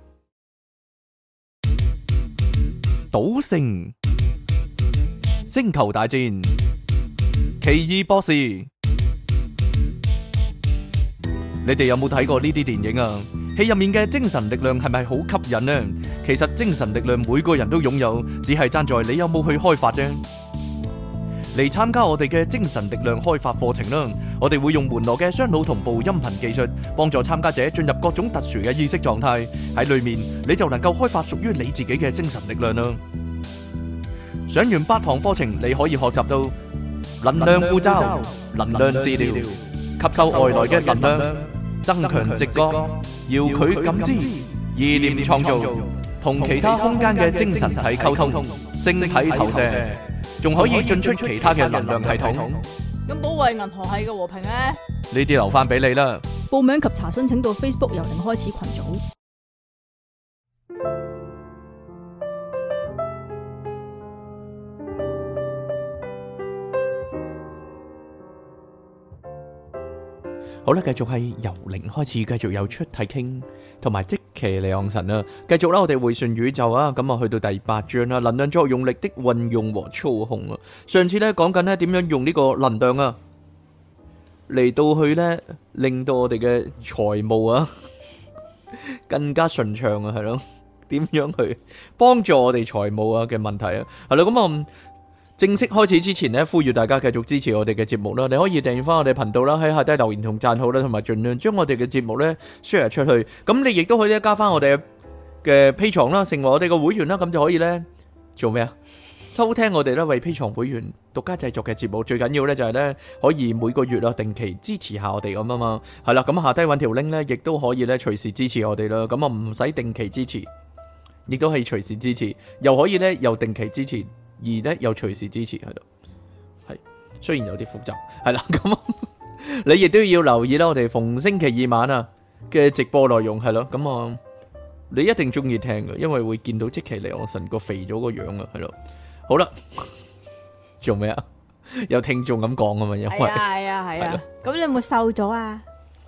[SPEAKER 2] 賭聖、星球大戰、奇異博士，你哋有冇睇過呢啲電影啊？戲入面嘅精神力量係咪好吸引呢？其實精神力量每個人都擁有，只係爭在你有冇去開發啫。嚟參加我哋嘅精神力量開發課程啦！我哋會用門羅嘅雙腦同步音頻技術，幫助參加者進入各種特殊嘅意識狀態。喺裏面你就能夠開發屬於你自己嘅精神力量啦！上完八堂課程，你可以學習到能量護罩、能量治療、吸收外來嘅能量、增強直覺、遙距感知、意念創造、同其他空間嘅精神體溝通、星體投射。仲可以進出其他嘅能量系統。
[SPEAKER 1] 咁保衛銀河系嘅和平咧？
[SPEAKER 2] 呢啲留翻俾你啦。
[SPEAKER 1] 報名及查詢請到 Facebook 由零開始群組。
[SPEAKER 2] 好啦，繼續係由零開始，繼續有出體傾，同埋即其離岸神啊！繼續啦，我哋回旋宇宙啊！咁啊，去到第八章啦，能量作用力的運用和操控啊！上次咧講緊咧點樣用呢個能量啊，嚟到去咧令到我哋嘅財務啊更加順暢啊，係咯？點樣去幫助我哋財務啊嘅問題啊？係咯，咁啊。正式開始之前呢，呼籲大家繼續支持我哋嘅節目啦！你可以訂閱翻我哋頻道啦，喺下低留言同讚好啦，同埋盡量將我哋嘅節目呢 share 出去。咁你亦都可以咧加翻我哋嘅 Patreon啦，成為我哋嘅會員啦，咁就可以呢做咩啊？收聽我哋呢為 Patreon 會員獨家製作嘅節目。最緊要呢就係呢可以每個月啊定期支持下我哋咁啊嘛。係啦，咁下低揾條 link 呢，亦都可以呢隨時支持我哋啦。咁啊唔使定期支持，亦都係隨時支持，又可以呢又定期支持。而咧又隨時支持喺度，係雖然有啲複雜，係啦咁，你亦都要留意啦。我哋逢星期二晚啊嘅直播內容係咯，咁啊你一定中意聽嘅，因為會見到即其離岸神個肥咗個樣啊，係咯。好啦，做咩啊？有聽眾咁講啊嘛，因為
[SPEAKER 1] 係啊係啊係啊，咁你有冇瘦咗啊？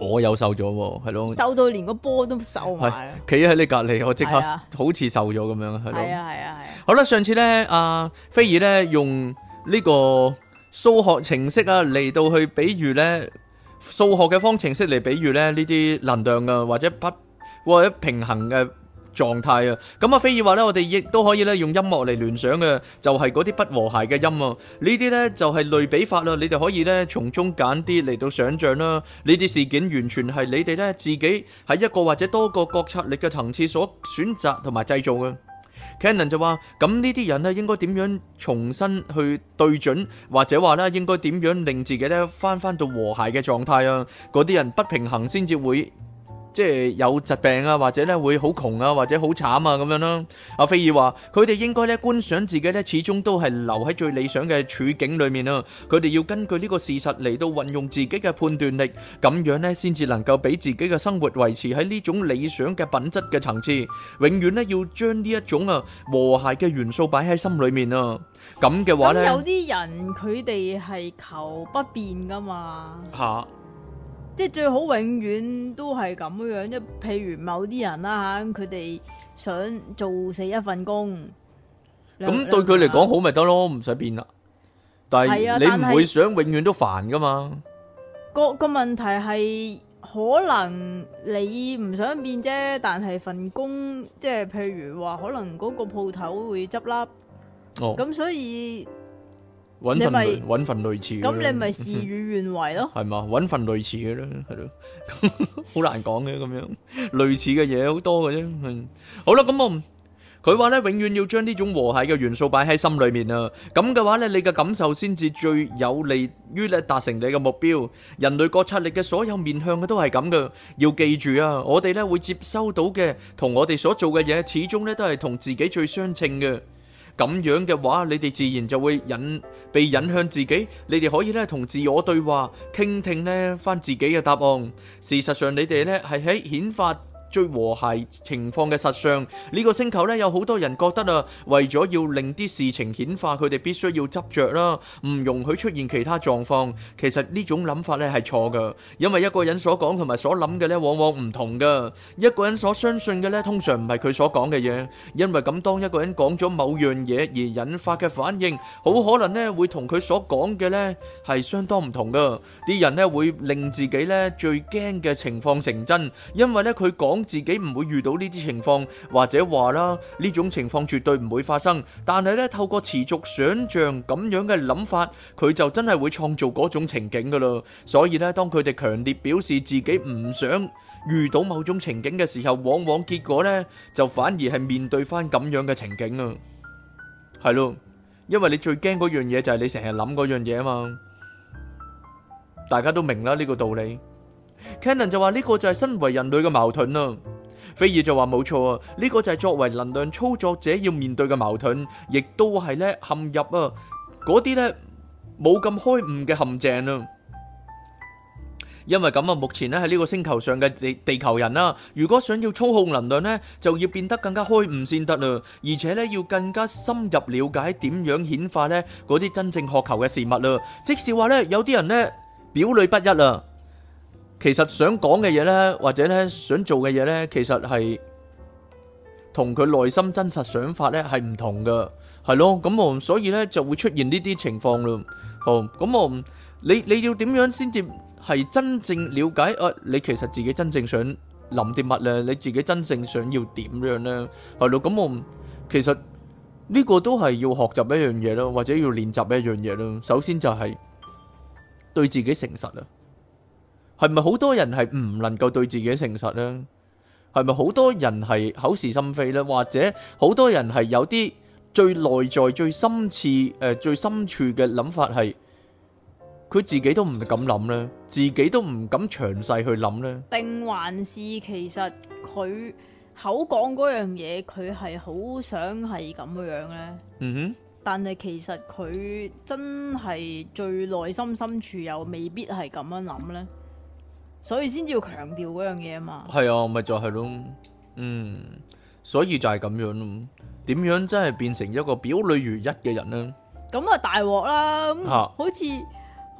[SPEAKER 2] 我有瘦咗喎，係咯，
[SPEAKER 1] 瘦到連個波都瘦埋，
[SPEAKER 2] 企喺你隔離，我即刻
[SPEAKER 1] 係啊
[SPEAKER 2] 好似瘦咗咁樣，係咯。
[SPEAKER 1] 係啊係啊係啊。
[SPEAKER 2] 好啦，上次咧，阿菲爾咧用呢個數學程式啊嚟到去比喻咧數學嘅方程式嚟比喻咧呢啲能量啊或者不或者平衡嘅狀態啊，咁啊，菲爾話咧，我哋亦都可以咧用音樂嚟聯想嘅，就係嗰啲不和諧嘅音啊，呢啲咧就係類比法啦，你哋可以咧從中揀啲嚟到想像啦，呢啲事件完全係你哋咧自己喺一個或者多個覺察力嘅層次所選擇同埋製造嘅。Cannon 就話：咁呢啲人咧應該點樣重新去對準，或者話咧應該點樣令自己咧翻翻到和諧嘅狀態啊？嗰啲人不平衡先至會。即係有疾病啊，或者咧會好窮啊，或者好慘啊咁樣啦。阿菲爾話：佢哋應該咧觀想自己咧，始終都係留喺最理想嘅處境裏面啊。佢哋要根據呢個事實嚟到運用自己嘅判斷力，咁樣咧先至能夠俾自己嘅生活維持喺呢種理想嘅品質嘅層次。永遠咧要將呢一種啊和諧嘅元素擺喺心裏面啊。咁嘅話咧，
[SPEAKER 1] 咁有啲人佢哋係求不變噶嘛。
[SPEAKER 2] 嚇。
[SPEAKER 1] 即係最好永遠都係咁樣，即係譬如某啲人啦嚇，佢哋想做死一份工，
[SPEAKER 2] 咁對佢嚟講好咪得咯，唔使變啦。但係你唔會想永遠都煩噶嘛？
[SPEAKER 1] 個個問題係可能你唔想變啫，但係份工即係譬如話，可能嗰個鋪頭會執笠，
[SPEAKER 2] 哦，
[SPEAKER 1] 咁所以。
[SPEAKER 2] 揾份類揾份類似嘅，
[SPEAKER 1] 咁你咪事與願違咯，
[SPEAKER 2] 係嘛？揾份類似嘅啦，係咯，好難講嘅咁樣，類似嘅嘢好多嘅啫。嗯，好啦，咁我佢話咧，永遠要將呢種和諧嘅元素擺喺心裏面啊。咁嘅話咧，你嘅感受先至最有利於咧達成你嘅目標。人類覺察力嘅所有面向嘅都係咁嘅，要記住啊！我哋咧會接收到嘅同我哋所做嘅嘢，始終咧都係同自己最相稱嘅。咁樣嘅話，你哋自然就會引被引向自己。你哋可以咧同自我對話，傾聽咧翻自己嘅答案。事實上，你哋咧係喺顯化最和諧情況嘅實相。呢個星球咧有好多人覺得啊，為咗要令啲事情顯化，佢哋必須要執着啦，唔容許出現其他狀況。其實呢種諗法咧係錯噶，因為一個人所講同埋所諗嘅咧往往唔同噶。一個人所相信嘅咧通常唔係佢所講嘅嘢，因為咁當一個人講咗某樣嘢而引發嘅反應，好可能咧會同佢所講嘅咧係相當唔同噶。啲人咧會令自己咧最驚嘅情況成真，因為咧佢講自己唔會遇到呢啲情況，或者話啦呢種情況絕對唔會發生，但係咧透過持續想像咁樣嘅諗法，佢就真係會創造嗰種情景噶啦。所以咧當佢哋強烈表示自己唔想遇到某種情景嘅時候，往往結果咧就反而係面對翻咁樣嘅情景啊。係咯，因為你最驚嗰樣嘢就係你成日諗嗰樣嘢啊嘛。大家都明啦呢個道理。Cannon 就話呢個就係身為人類嘅矛盾啦。菲爾就話冇錯啊，呢個就係作為能量操作者要面對嘅矛盾，亦都係咧陷入啊嗰啲咧冇咁開悟嘅陷阱啊。因為咁啊，目前咧喺呢個星球上嘅地地球人啦，如果想要操控能量咧，就要變得更加開悟先得啦，而且咧要更加深入了解點樣顯化咧嗰啲真正渴求嘅事物啦。即是話咧，有啲人咧表裏不一啊。其實想講嘅嘢呢，或者咧想做嘅嘢呢，其實係同佢內心真實想法呢係唔同噶，係咯，咁我所以呢就會出現呢啲情況咯。好，咁我你你要點樣先至係真正了解啊？你其實自己真正想諗啲乜呢？你自己真正想要點樣呢？係咯，咁我其實呢個都係要學習一樣嘢咯，或者要練習一樣嘢咯。首先就係對自己誠實啊。係咪好多人係唔能夠對自己誠實呢？係咪好多人係口是心非呢？或者好多人係有啲最內在、最深切、誒、呃、最深處嘅諗法係，佢自己都唔敢諗呢，自己都唔敢詳細去諗呢？定
[SPEAKER 1] 還是其實佢口講嗰樣嘢，佢係好想係咁樣呢？嗯哼。但係其實佢真係最內心深處又未必係咁樣諗呢？所以先至要強調嗰樣嘢啊嘛，係
[SPEAKER 2] 啊，咪就係咯，嗯，所以就係咁樣咯。點樣真係變成一個表裏如一嘅人呢？
[SPEAKER 1] 咁啊大鑊啦，咁好似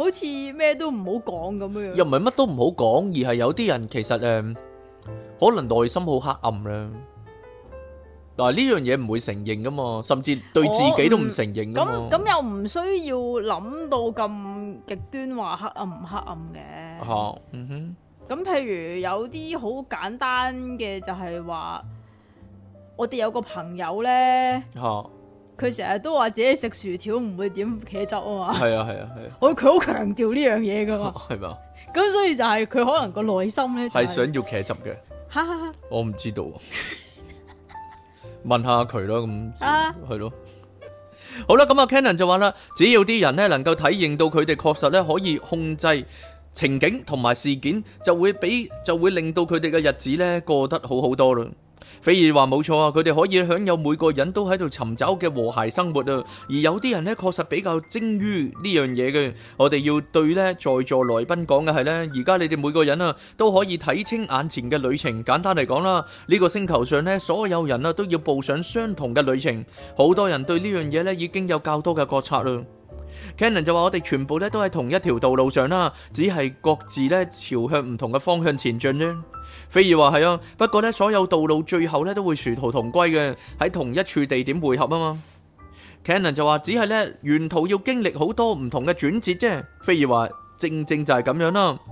[SPEAKER 1] 好似咩都唔好講咁樣。
[SPEAKER 2] 又唔係乜都唔好講，而係有啲人其實誒、呃，可能內心好黑暗啦。但係呢樣嘢唔會承認噶嘛，甚至對自己都唔承認噶嘛。
[SPEAKER 1] 咁咁又唔需要諗到咁極端話黑暗唔黑暗嘅。
[SPEAKER 2] 吓、啊，嗯哼。
[SPEAKER 1] 咁譬如有啲好簡單嘅就係話，我哋有個朋友咧，佢成日都話自己食薯條唔會點茄汁啊嘛。係啊係啊係啊，我佢好強調呢樣嘢噶嘛。係嘛？咁所以就係佢可能個內心咧係想要茄汁嘅。哈哈哈，我唔知道。問下佢咯，咁係咯。好啦，咁啊 Cannon 就話啦，只要啲人咧能夠體認到佢哋確實咧可以控制情景同埋事件，就會俾就會令到佢哋嘅日子咧過得好好多啦。菲爾話冇錯啊，佢哋可以享有每個人都喺度尋找嘅和諧生活啊。而有啲人咧確實比較精於呢樣嘢嘅。我哋要對咧在座來賓講嘅係咧，而家你哋每個人啊都可以睇清眼前嘅旅程。簡單嚟講啦，呢個星球上咧所有人啊都要步上相同嘅旅程。好多人對呢樣嘢咧已經有較多嘅覺察啦。Cannon 就話我哋全部咧都喺同一條道路上啦，只係各自咧朝向唔同嘅方向前進啫。菲爾話係啊，不過咧所有道路最後咧都會殊途同歸嘅，喺同一處地點匯合啊嘛。Cannon 就話只係咧沿途要經歷好多唔同嘅轉折啫。菲爾話正正就係咁樣啦。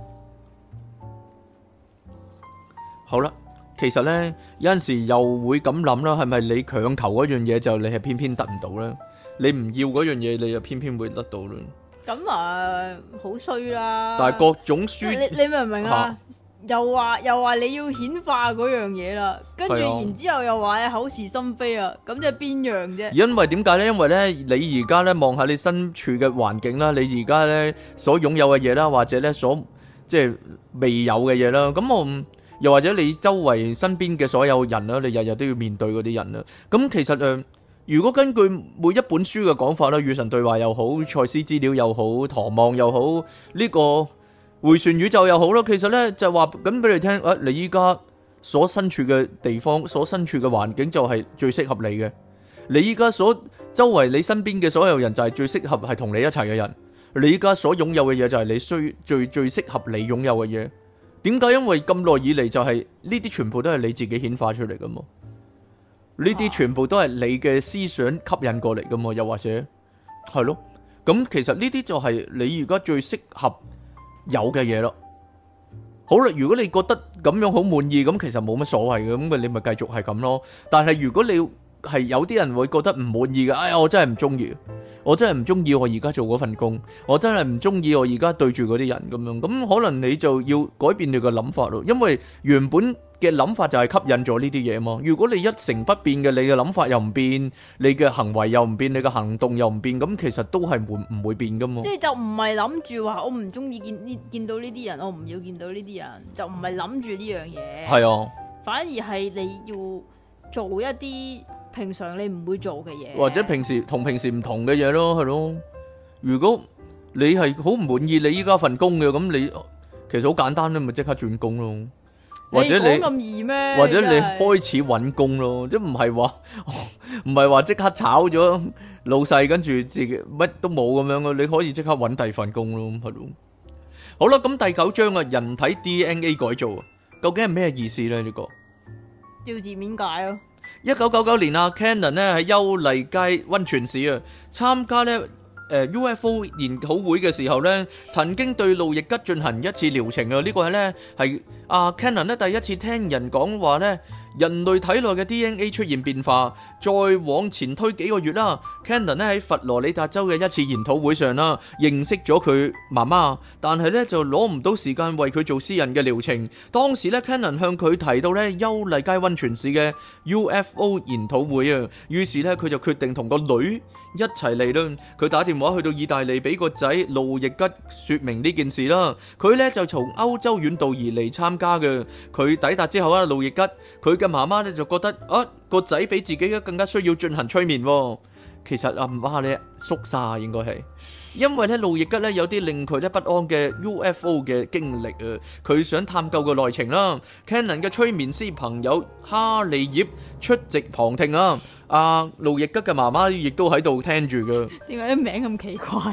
[SPEAKER 1] 好啦，其實咧有陣時又會咁諗啦，係咪你強求嗰樣嘢就你係偏偏得唔到咧？你唔要嗰樣嘢，你就偏偏會得到啦。咁啊，好衰啦！但係各種書，你你明唔明啊？啊又話又話你要顯化嗰樣嘢啦，跟住然之後又話口是心非啊，咁即係邊樣啫？因為點解咧？因為咧，你而家咧望下你身處嘅環境啦，你而家咧所擁有嘅嘢啦，或者咧所即係未有嘅嘢啦，咁我又或者你周圍身邊嘅所有人啦，你日日都要面對嗰啲人啦，咁其實誒。呃如果根據每一本書嘅講法啦，與神對話又好，賽斯資料又好，唐望又好，呢個迴旋宇宙又好啦，其實呢就話咁俾你聽，啊，你依家所身處嘅地方，所身處嘅環境就係最適合你嘅。你依家所周圍你身邊嘅所有人就係最適合係同你一齊嘅人。你依家所擁有嘅嘢就係你需最最適合你擁有嘅嘢。點解？因為咁耐以嚟就係呢啲全部都係你自己顯化出嚟噶嘛。呢啲全部都係你嘅思想吸引過嚟噶嘛，又或者係咯，咁其實呢啲就係你而家最適合有嘅嘢咯。好啦，如果你覺得咁樣好滿意，咁其實冇乜所謂嘅，咁你咪繼續係咁咯。但係如果你係有啲人會覺得唔滿意嘅，哎呀，我真係唔中意，我真係唔中意我而家做嗰份工，我真係唔中意我而家對住嗰啲人咁樣，咁可能你就要改變你嘅諗法咯，因為原本嘅諗法就係吸引咗呢啲嘢嘛。如果你一成不變嘅，你嘅諗法又唔變，你嘅行為又唔變，你嘅行動又唔變，咁其實都係會唔會變噶嘛？即係就唔係諗住話我唔中意見呢見到呢啲人，我唔要見到呢啲人，就唔係諗住呢樣嘢。係啊，反而係你要做一啲平常你唔會做嘅嘢，或者平時同平時唔同嘅嘢咯，係咯。如果你係好唔滿意你依家份工嘅，咁你其實好簡單咧，咪即刻轉工咯。或者你咁易咩？或者你開始揾工咯，即唔係話唔係話即刻炒咗老細，跟住自己乜都冇咁樣咯。你可以即刻揾第二份工咯，係咯。好啦，咁第九章啊，人體 D N A 改造，究竟係咩意思咧？呢個照字面解咯。一九九九年啊 Cannon 咧喺優麗街溫泉市啊參加咧誒 U F O 研討會嘅時候咧，曾經對路易吉進行一次療程啊！呢個係咧係阿 Cannon 咧第一次聽人講話咧，人類體內嘅 D N A 出現變化。再往前推幾個月啦 ，Cannon 咧喺佛羅里達州嘅一次研討會上啦，認識咗佢媽媽，但係咧就攞唔到時間為佢做私人嘅療程。當時咧 Cannon 向佢提到咧優麗街溫泉市嘅 U F O 研討會啊，於是咧佢就決定同個女一齊嚟啦。佢打電話去到意大利俾個仔路易吉說明呢件事啦。佢咧就從歐洲遠道而嚟參加嘅。佢抵達之後啊，路易吉佢嘅媽媽咧就覺得啊個仔比自己更加需要進行催眠。其實阿媽咧縮沙應該係，因為咧路易吉咧有啲令佢咧不安嘅 U F O 嘅經歷啊，佢想探究個內情啦。Cannon 嘅催眠師朋友哈利葉出席旁聽啊，阿路易吉嘅媽媽亦都喺度聽住噶。點解啲名咁奇怪嘅？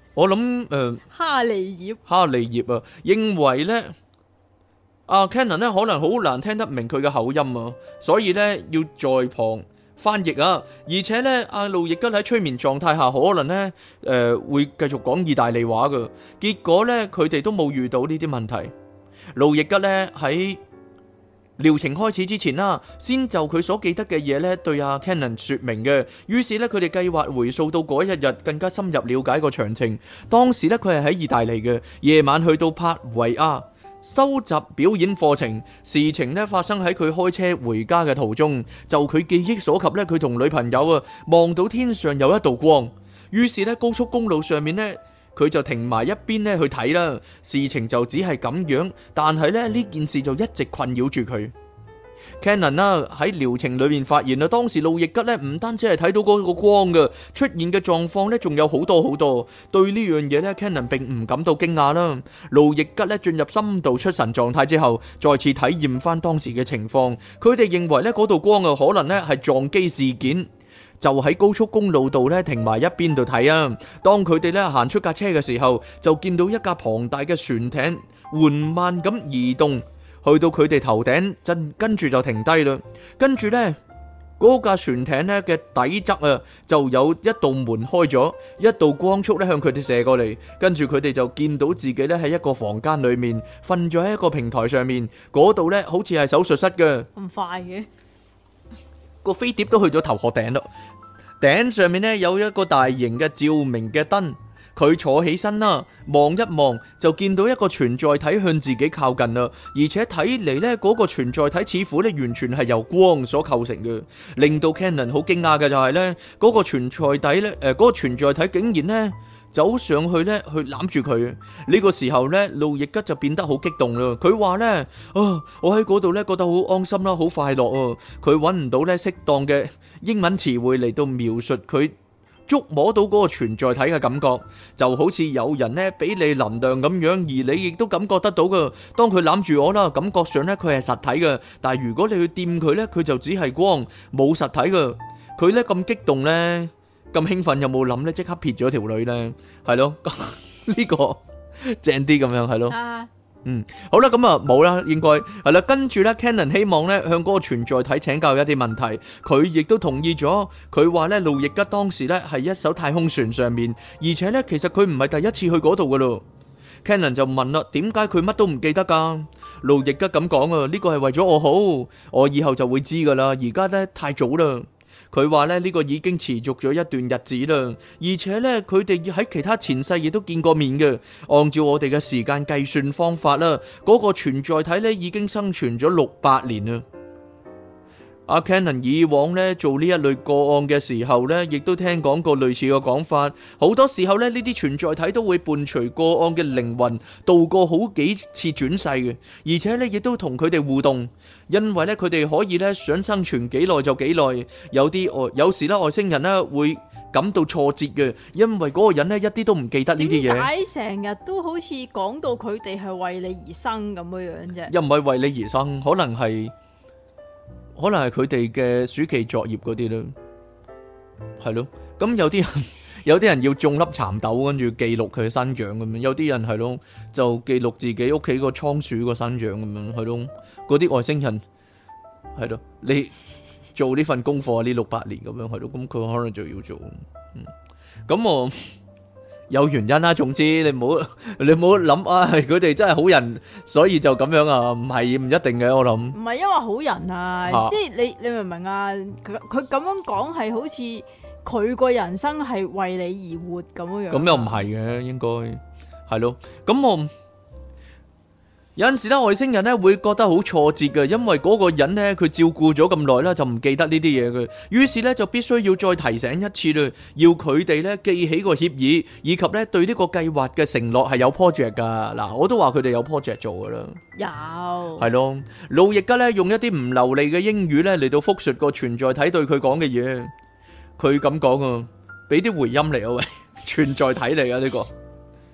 [SPEAKER 2] 我諗誒，
[SPEAKER 1] 哈利葉，
[SPEAKER 2] 哈利葉啊，認為咧，阿 Cannon 咧可能好難聽得明佢嘅口音啊，所以咧要在旁翻譯啊，而且咧阿路易吉喺催眠狀態下，可能咧誒、呃、會繼續講意大利話噶，結果咧佢哋都冇遇到呢啲問題。路易吉咧喺療程開始之前啦，先就佢所記得嘅嘢咧，對阿 Cannon 說明嘅。於是咧，佢哋計劃回溯到嗰一日，更加深入了解個詳情。當時咧，佢係喺意大利嘅，夜晚去到帕維亞收集表演課程。事情咧發生喺佢開車回家嘅途中。就佢記憶所及咧，佢同女朋友啊望到天上有一道光。於是咧，高速公路上面咧，佢就停埋一邊咧去睇啦，事情就只係咁樣，但係咧呢件事就一直困擾住佢。Cannon 啦喺療程裏面發現啦，當時路易吉咧唔單止係睇到嗰個光嘅出現嘅狀況咧，仲有好多好多。對呢樣嘢咧 Cannon 並唔感到驚訝啦。路易吉咧進入深度出神狀態之後，再次體驗翻當時嘅情況，佢哋認為咧嗰道光啊可能咧係撞擊事件。就喺高速公路度咧停埋一邊度睇啊！當佢哋咧行出架車嘅時候，就見到一架龐大嘅船艇緩慢咁移動，去到佢哋頭頂，真跟住就停低啦。跟住呢，嗰架船艇咧嘅底側啊，就有一道門開咗，一道光束咧向佢哋射過嚟。跟住佢哋就見到自己咧喺一個房間裏面瞓咗喺一個平台上面，嗰度咧好似係手術室嘅。
[SPEAKER 1] 咁快嘅？
[SPEAKER 2] 個飛碟都去咗頭殼頂咯，頂上面呢有一個大型嘅照明嘅燈，佢坐起身啦，望一望就見到一個存在體向自己靠近啦，而且睇嚟呢嗰個存在體似乎呢完全係由光所構成嘅，令到 Cannon 好驚訝嘅就係呢嗰個存在體呢，誒嗰個存在體竟然呢走上去咧，去攬住佢。呢個時候咧，路易吉就變得好激動啦。佢話咧：啊，我喺嗰度咧，覺得好安心啦，好快樂啊！佢揾唔到咧適當嘅英文詞彙嚟到描述佢觸摸到嗰個存在體嘅感覺，就好似有人咧俾你能量咁樣，而你亦都感覺得到噶。當佢攬住我啦，感覺上咧佢係實體嘅，但係如果你去掂佢咧，佢就只係光，冇實體噶。佢咧咁激動咧。咁興奮有冇諗咧？即刻撇咗條女咧，係咯？呢個正啲咁樣係咯。啊、嗯，好啦，咁啊冇啦，應該係啦。跟住咧 ，Cannon 希望咧向嗰個存在體請教一啲問題，佢亦都同意咗。佢話咧，路易吉當時咧係一艘太空船上面，而且咧其實佢唔係第一次去嗰度噶咯。Cannon 就問啦，點解佢乜都唔記得噶？路易吉咁講啊，呢個係為咗我好，我以後就會知噶啦。而家咧太早啦。佢話咧呢個已經持續咗一段日子啦，而且咧佢哋喺其他前世亦都見過面嘅。按照我哋嘅時間計算方法啦，嗰個存在體咧已經生存咗六百年啦。阿 Cannon 以往咧做呢一類個案嘅時候咧，亦都聽講過類似嘅講法。好多時候咧，呢啲存在體都會伴隨個案嘅靈魂度過好幾次轉世嘅，而且咧亦都同佢哋互動。因為咧佢哋可以咧想生存幾耐就幾耐。有啲外有時咧外星人咧會感到挫折嘅，因為嗰個人咧一啲都唔記得呢啲嘢。
[SPEAKER 1] 點解成日都好似講到佢哋係為你而生咁樣樣啫？
[SPEAKER 2] 又唔係為你而生，可能係。可能係佢哋嘅暑期作業嗰啲咯，係咯。咁有啲人有啲人要種粒蠶豆，跟住記錄佢生長咁樣。有啲人係咯，就記錄自己屋企個倉鼠個生長咁樣，係咯。嗰啲外星人係咯，你做呢份功課呢六百年咁樣，係咯。咁佢可能就要做。嗯，咁我。有原因啦，總之你唔好你唔好諗啊，佢哋真係好人，所以就咁樣啊，唔係唔一定嘅，我諗。唔係因為好人啊，啊即係你你明唔明啊？佢佢咁樣講係好似佢個人生係為你而活咁樣樣。咁又唔係嘅，應該係咯。咁我。有陣時咧，外星人咧會覺得好挫折嘅，因為嗰個人咧佢照顧咗咁耐啦，就唔記得呢啲嘢嘅，於是咧就必須要再提醒一次啦，要佢哋咧記起個協議，以及咧對呢個計劃嘅承諾係有 project 噶。嗱，我都話佢哋有 project 做噶啦，有係咯。路易吉咧用一啲唔流利嘅英語咧嚟到複述個存在體對佢講嘅嘢，佢咁講啊，俾啲回音嚟啊喂，存在體嚟啊呢個。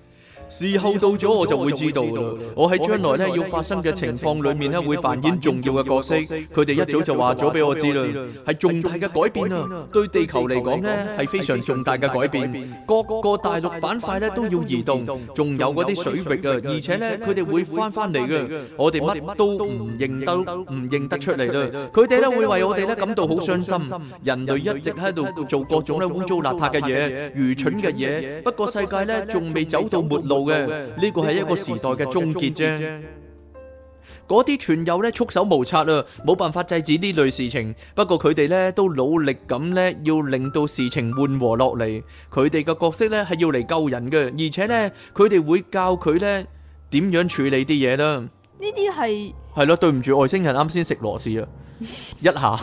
[SPEAKER 2] 時候到咗我就會知道啦。我喺將來咧要發生嘅情況裏面咧會扮演重要嘅角色。佢哋一早就話咗俾我知啦，係重大嘅改變啊！對地球嚟講咧係非常重大嘅改變，各個大陸板塊咧都要移動，仲有嗰啲水域啊，而且咧佢哋會翻翻嚟嘅。我哋乜都唔認得，唔認得出嚟啦。佢哋咧會為我哋咧感到好傷心。人類一直喺度做各種咧污糟邋遢嘅嘢、愚蠢嘅嘢。不過世界咧仲未走到末路嘅，呢個係一個時代嘅終結啫。嗰啲傳友咧束手無策啊，冇辦法制止呢類事情。不過佢哋咧都努力咁咧，要令到事情緩和落嚟。佢哋嘅角色咧係要嚟救人嘅，而且咧佢哋會教佢咧點樣處理啲嘢啦。
[SPEAKER 1] 呢啲係
[SPEAKER 2] 係咯，對唔住外星人，啱先食螺絲啊，一下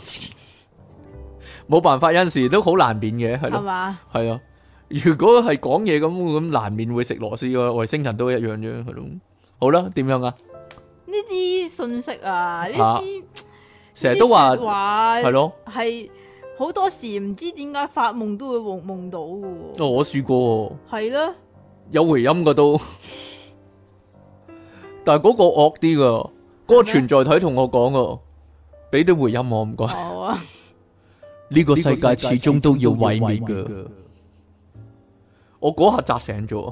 [SPEAKER 2] 冇辦法，有陣時都好難免嘅，係咯，係嘛？係啊，如果係講嘢咁咁難免會食螺絲嘅，外星人都一樣啫，係咯。好啦，點樣啊？
[SPEAKER 1] 呢啲信息啊，呢啲
[SPEAKER 2] 成日都話係咯，
[SPEAKER 1] 係好多時唔知點解發夢都會夢夢到嘅。
[SPEAKER 2] 哦，我試過，係咯，有回音嘅都，但係嗰個惡啲噶，嗰個存在體同我講噶，俾啲回音我唔該。好啊，呢個世界始終都要毀滅噶。我嗰下扎醒咗，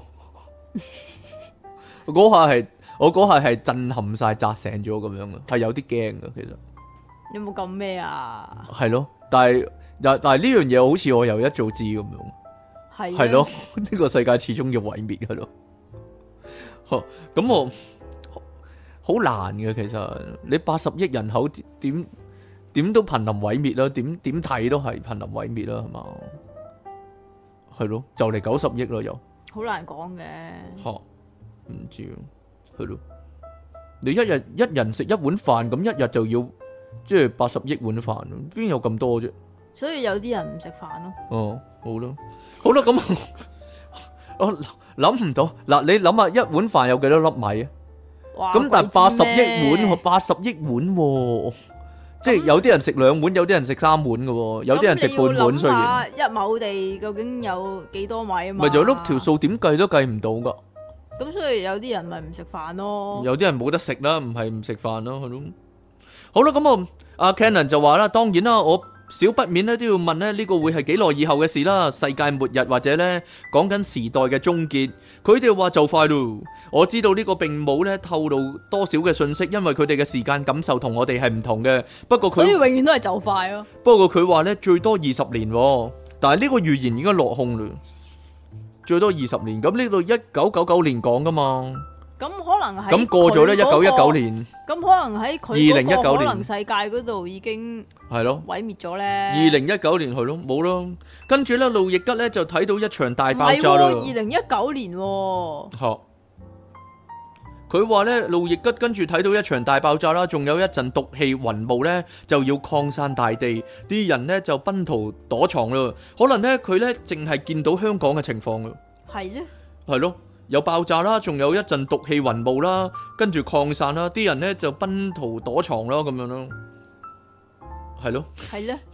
[SPEAKER 2] 嗰下係。我嗰下係震撼晒，扎醒咗咁樣嘅，係有啲驚嘅其實。
[SPEAKER 1] 有冇咁咩啊？
[SPEAKER 2] 係咯，但係但係呢樣嘢好似我又一早知咁樣。係係咯，呢、這個世界始終要毀滅嘅咯。咁我好難嘅，其實你八十億人口點點都瀕臨毀滅啦，點點睇都係瀕臨毀滅啦，係嘛？係咯，就嚟九十億啦又。好難講嘅。吓，唔知。係咯，你一日一人食一碗飯，咁一日就要即係八十億碗飯，邊有咁多啫？所以有啲人唔食飯咯。哦，好啦，好啦，咁我諗唔到嗱，你諗下一碗飯有幾多粒米啊？咁但係八十億碗，八十億碗，即係有啲人食兩碗，有啲人食三碗嘅，有啲人食半碗。雖然一畝地究竟有幾多米啊？嘛，咪就碌條數，點計都計唔到噶。咁所以有啲人咪唔食飯咯，有啲人冇得食啦，唔係唔食飯咯，係咯。好啦，咁啊，阿 Cannon 就話啦，當然啦，我少不免咧都要問咧，呢個會係幾耐以後嘅事啦，世界末日或者咧講緊時代嘅終結。佢哋話就快咯，我知道呢個並冇咧透露多少嘅信息，因為佢哋嘅時間感受同我哋係唔同嘅。不過佢所以永遠都係就快咯。不過佢話咧最多二十年，但係呢個預言已經落空啦。最多二十年，咁呢度一九九九年講噶嘛？咁可能喺咁過咗咧，一九一九年。咁可能喺佢二零一九年可能世界嗰度已經係咯毀滅咗咧。二零一九年係咯冇咯，跟住咧路易吉咧就睇到一場大爆炸啦。二零一九年，吓佢話咧路易吉跟住睇到一場大爆炸啦，仲有一陣毒氣雲霧咧就要擴散大地，啲人咧就奔逃躲藏啦。可能咧佢咧淨係見到香港嘅情況啦。係咧，係咯，有爆炸啦，仲有一陣毒氣雲霧啦，跟住擴散啦，啲人咧就奔逃躲藏啦，咁樣咯。係咯，係咧，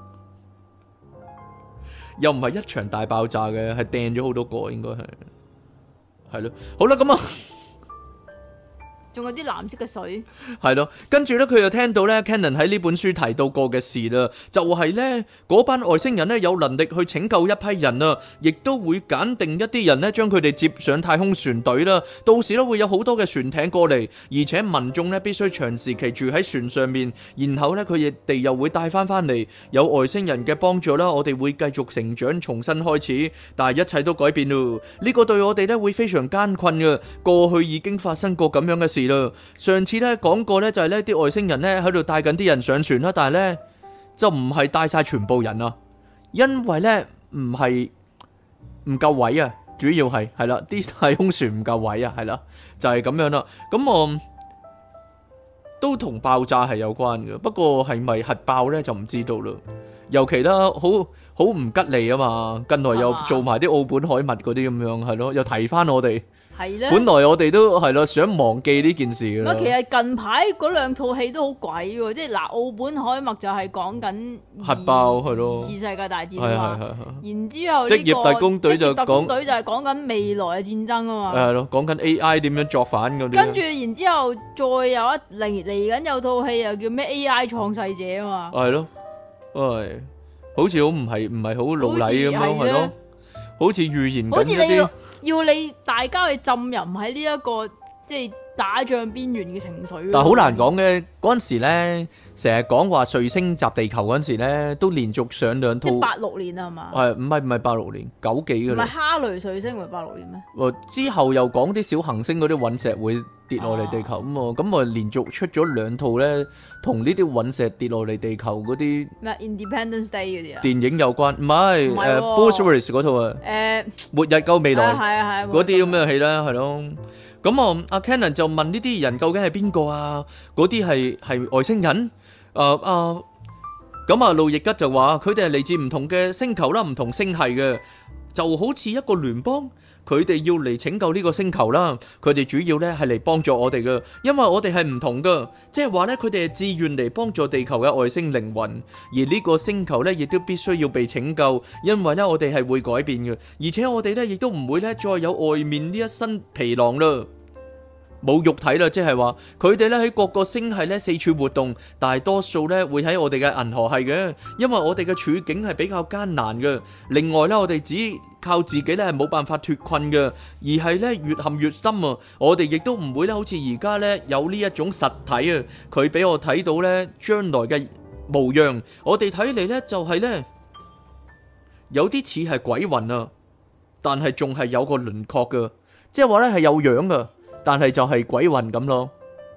[SPEAKER 2] 又唔係一場大爆炸嘅，係掟咗好多個，應該係係咯。好啦，咁啊。仲有啲藍色嘅水，係咯，跟住咧佢又聽到咧 Cannon 喺呢本書提到過嘅事啦，就係咧嗰班外星人咧有能力去拯救一批人啊，亦都會揀定一啲人咧將佢哋接上太空船隊啦，到時咧會有好多嘅船艇過嚟，而且民眾咧必須長時期住喺船上面，然後咧佢哋又會帶翻翻嚟，有外星人嘅幫助啦，我哋會繼續成長，重新開始，但係一切都改變咯，呢個對我哋咧會非常艱困嘅，過去已經發生過咁樣嘅事。上次咧講過咧就係呢啲外星人咧喺度帶緊啲人上船啦，但係咧就唔係帶晒全部人啊，因為咧唔係唔夠位啊，主要係係啦啲太空船唔夠位啊，係啦就係咁樣啦。咁我都同爆炸係有關嘅，不過係咪核爆咧就唔知道啦。 尤其啦，好好唔吉利啊嘛。近來又做埋啲奧本海默嗰啲咁樣，係咯，又提翻我哋。
[SPEAKER 1] 係咧，
[SPEAKER 2] 本來我哋都係咯想忘記呢件事㗎啦。
[SPEAKER 1] 其實近排嗰兩套戲都好鬼喎，即係嗱，奧本海默就係講緊
[SPEAKER 2] 核爆係咯，
[SPEAKER 1] 二次世界大戰
[SPEAKER 2] 係
[SPEAKER 1] 啊嘛。
[SPEAKER 2] 係係。
[SPEAKER 1] 然之後
[SPEAKER 2] 職業特工隊就講，職業特工
[SPEAKER 1] 隊就係講緊未來嘅戰爭啊嘛。
[SPEAKER 2] 係咯，講緊 A I 點樣作反嗰啲。
[SPEAKER 1] 跟住然之後再有一嚟嚟緊有套戲又叫咩 A I 創世者啊嘛。係咯，
[SPEAKER 2] 唉，好似好唔係唔係好老禮咁樣係咯，好似預言緊一啲。
[SPEAKER 1] 要你大家去浸淫喺呢一個即係打仗邊緣嘅情緒。
[SPEAKER 2] 但係好難講嘅，嗰陣時咧，成日講話彗星襲地球嗰陣時咧，都連續上兩套。
[SPEAKER 1] 即係八六年啊嘛。係
[SPEAKER 2] 唔係唔係八六年，九幾嘅啦。
[SPEAKER 1] 唔係哈雷彗星唔係八六年咩？
[SPEAKER 2] 之後又講啲小行星嗰啲隕石會跌落嚟地球咁啊，咁啊連續出咗兩套咧，同呢啲隕石跌落嚟地球嗰啲
[SPEAKER 1] 咩 Independence Day 嗰啲啊？
[SPEAKER 2] 電影有關，唔係誒 Bruce Willis 嗰套啊，誒末日救未來，
[SPEAKER 1] 係啊係
[SPEAKER 2] 嗰啲咁嘅戲啦，係咯。咁啊，阿 Cannon 就問呢啲人究竟係邊個啊？嗰啲係係外星人？誒啊，咁啊路易吉就話佢哋係嚟自唔同嘅星球啦，唔同星系嘅，就好似一個聯邦。佢哋要嚟拯救呢個星球啦，佢哋主要咧係嚟幫助我哋嘅，因為我哋係唔同噶，即係話咧佢哋係自願嚟幫助地球嘅外星靈魂，而呢個星球咧亦都必須要被拯救，因為咧我哋係會改變嘅，而且我哋咧亦都唔會咧再有外面呢一身皮囊啦。冇肉體啦，即係話佢哋咧喺各個星系咧四處活動，大多數咧會喺我哋嘅銀河系嘅，因為我哋嘅處境係比較艱難嘅。另外咧，我哋只靠自己咧係冇辦法脫困嘅，而係咧越陷越深啊！我哋亦都唔會咧好似而家咧有呢一種實體啊，佢俾我睇到咧將來嘅模樣，我哋睇嚟咧就係咧有啲似係鬼魂啊，但係仲係有個輪廓嘅，即係話咧係有樣嘅。但係就係鬼魂咁咯，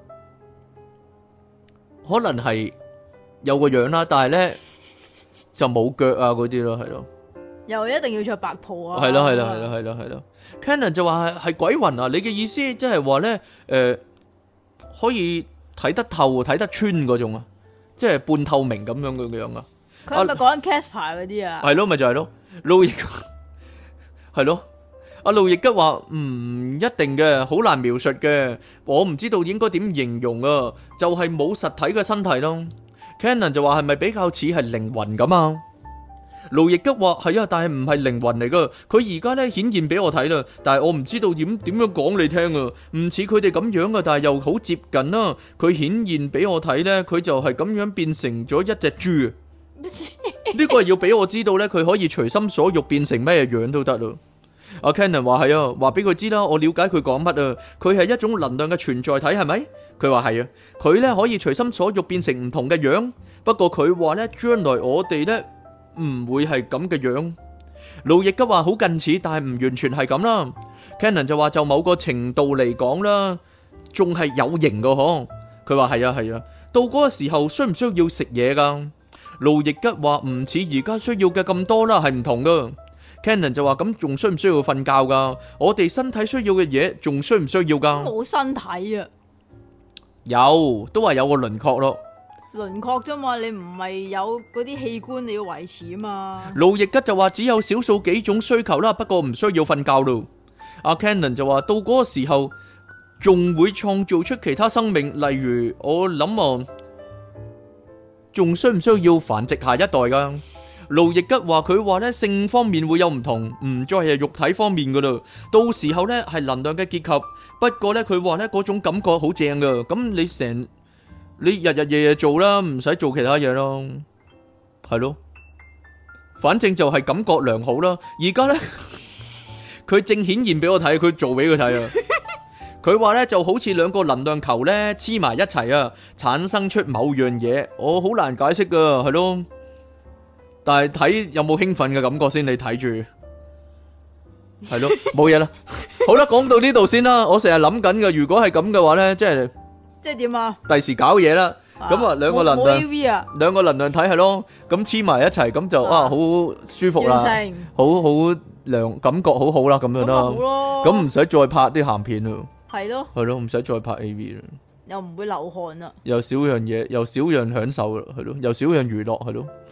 [SPEAKER 2] 可能係有個樣啦，但係咧就冇腳啊嗰啲咯，係咯，
[SPEAKER 1] 又一定要着白袍啊，
[SPEAKER 2] 係咯係咯係咯係咯係咯 Cannon 就話係係鬼魂啊，你嘅意思即係話咧誒可以睇得透睇得穿嗰種啊，即係半透明咁樣嘅樣啊。
[SPEAKER 1] 佢係咪講緊 Casper 嗰啲啊？
[SPEAKER 2] 係咯，咪就係咯，路易係咯。阿路易吉話唔一定嘅，好難描述嘅，我唔知道應該點形容啊，就係冇實體嘅身體咯。Cannon 就話係咪比較似係靈魂咁啊？路易吉話係啊，但係唔係靈魂嚟噶，佢而家咧顯現俾我睇啦，但係我唔知道點點樣講你聽啊，唔似佢哋咁樣啊，但係又好接近啦。佢顯現俾我睇咧，佢就係咁樣變成咗一隻豬。呢個係要俾我知道咧，佢可以隨心所欲變成咩樣都得咯。阿 Cannon 話係啊，話俾佢知啦，我了解佢講乜啊，佢係一種能量嘅存在體，係咪？佢話係啊，佢咧可以隨心所欲變成唔同嘅樣，不過佢話咧將來我哋咧唔會係咁嘅樣。路易吉話好近似，但係唔完全係咁啦。Cannon 就話就某個程度嚟講啦，仲係有型噶嗬。佢話係啊係啊，到嗰個時候需唔需要食嘢噶？路易吉話唔似而家需要嘅咁多啦，係唔同噶。Cannon 就話咁仲需唔需要瞓覺噶？我哋身體需要嘅嘢仲需唔需要噶？
[SPEAKER 1] 冇身體啊，
[SPEAKER 2] 有都話有個輪廓咯，
[SPEAKER 1] 輪廓啫嘛，你唔係有嗰啲器官你要維持啊嘛。
[SPEAKER 2] 路易吉就話只有少數幾種需求啦，不過唔需要瞓覺咯。阿 Cannon 就話到嗰個時候仲會創造出其他生命，例如我諗啊，仲需唔需要繁殖下一代噶？路易吉話佢話咧性方面會有唔同，唔再係肉體方面噶啦，到時候咧係能量嘅結合。不過咧佢話咧嗰種感覺好正噶，咁你成你日日夜夜做啦，唔使做其他嘢咯，係咯，反正就係感覺良好啦。而家咧佢正顯現俾我睇，佢做俾佢睇啊。佢話咧就好似兩個能量球咧黐埋一齊啊，產生出某樣嘢，我好難解釋噶，係咯。但係睇有冇興奮嘅感覺先，你睇住係咯，冇嘢啦。好啦，講到呢度先啦。我成日諗緊嘅，如果係咁嘅話咧，即係
[SPEAKER 1] 即係點啊？
[SPEAKER 2] 第時搞嘢啦，咁啊兩個能量，兩個能量體係咯，咁黐埋一齊，咁就啊好舒服啦，好好良感覺好好啦，咁樣啦，咁唔使再拍啲鹹片咯，係咯，係咯，唔使再拍 A V 啦，
[SPEAKER 1] 又唔會流汗啦，
[SPEAKER 2] 又少樣嘢，又少樣享受啦，係咯，又少樣娛樂，係咯。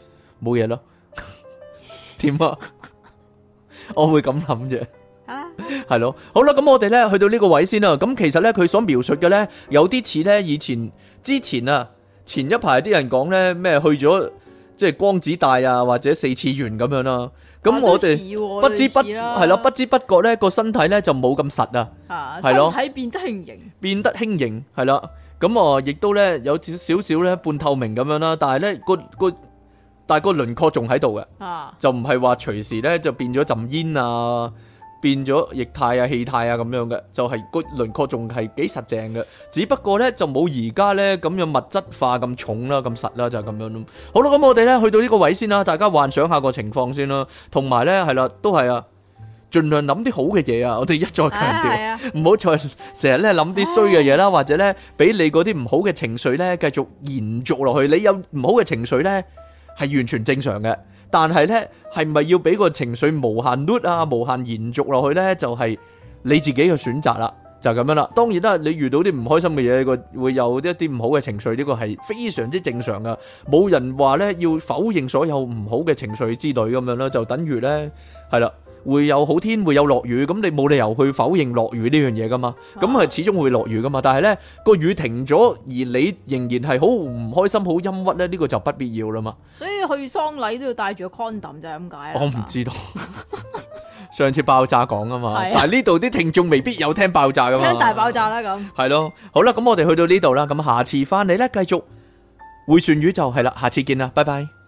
[SPEAKER 2] 冇嘢咯。點啊？我會咁諗啫。係咯，好啦，咁我哋咧去到呢個位先啦。咁其實咧佢所描述嘅咧有啲似咧以前之前啊，前一排啲人講咧咩去咗即係光子帶啊或者四次元咁樣啦。咁我哋不知不係咯，不知不覺咧個身體咧就冇咁實啊，係咯，
[SPEAKER 1] 身體變得輕盈，
[SPEAKER 2] 變得輕盈係啦。咁啊亦都咧有少少咧半透明咁樣啦，但係咧個個但係個輪廓仲喺度嘅，就唔係話隨時咧就變咗陣煙啊。變咗液態啊、氣態啊咁樣嘅，就係個輪廓仲係幾實淨嘅，只不過咧就冇而家咧咁樣物質化咁重啦、咁實啦，就係咁樣咯。好啦，咁我哋咧去到呢個位先啦，大家幻想下個情況先啦，同埋咧係啦，都係啊，盡量諗啲好嘅嘢啊，我哋一再強調，唔好再成日咧諗啲衰嘅嘢啦，或者咧俾你嗰啲唔好嘅情緒咧繼續延續落去。你有唔好嘅情緒咧係完全正常嘅。但係咧，係咪要俾個情緒無限 loop 啊、無限延續落去咧？就係、是、你自己嘅選擇啦，就係、是、咁樣啦。當然啦，你遇到啲唔開心嘅嘢，個會有一啲唔好嘅情緒，呢、這個係非常之正常噶。冇人話咧要否認所有唔好嘅情緒之類咁樣啦，就等於咧係啦，會有好天會有落雨，咁你冇理由去否認落雨呢樣嘢噶嘛。咁係始終會落雨噶嘛。但係咧個雨停咗，而你仍然係好唔開心、好陰鬱咧，呢、這個就不必要啦嘛。
[SPEAKER 1] 所以去喪禮都要帶住個 condom 就係咁解。
[SPEAKER 2] 我唔知道，上次爆炸講啊嘛，但係呢度啲聽眾未必有聽爆炸噶嘛。
[SPEAKER 1] 聽大爆炸啦咁。
[SPEAKER 2] 係咯，好啦，咁我哋去到呢度啦，咁下次翻嚟咧繼續迴旋宇宙係啦，下次見啦，拜拜。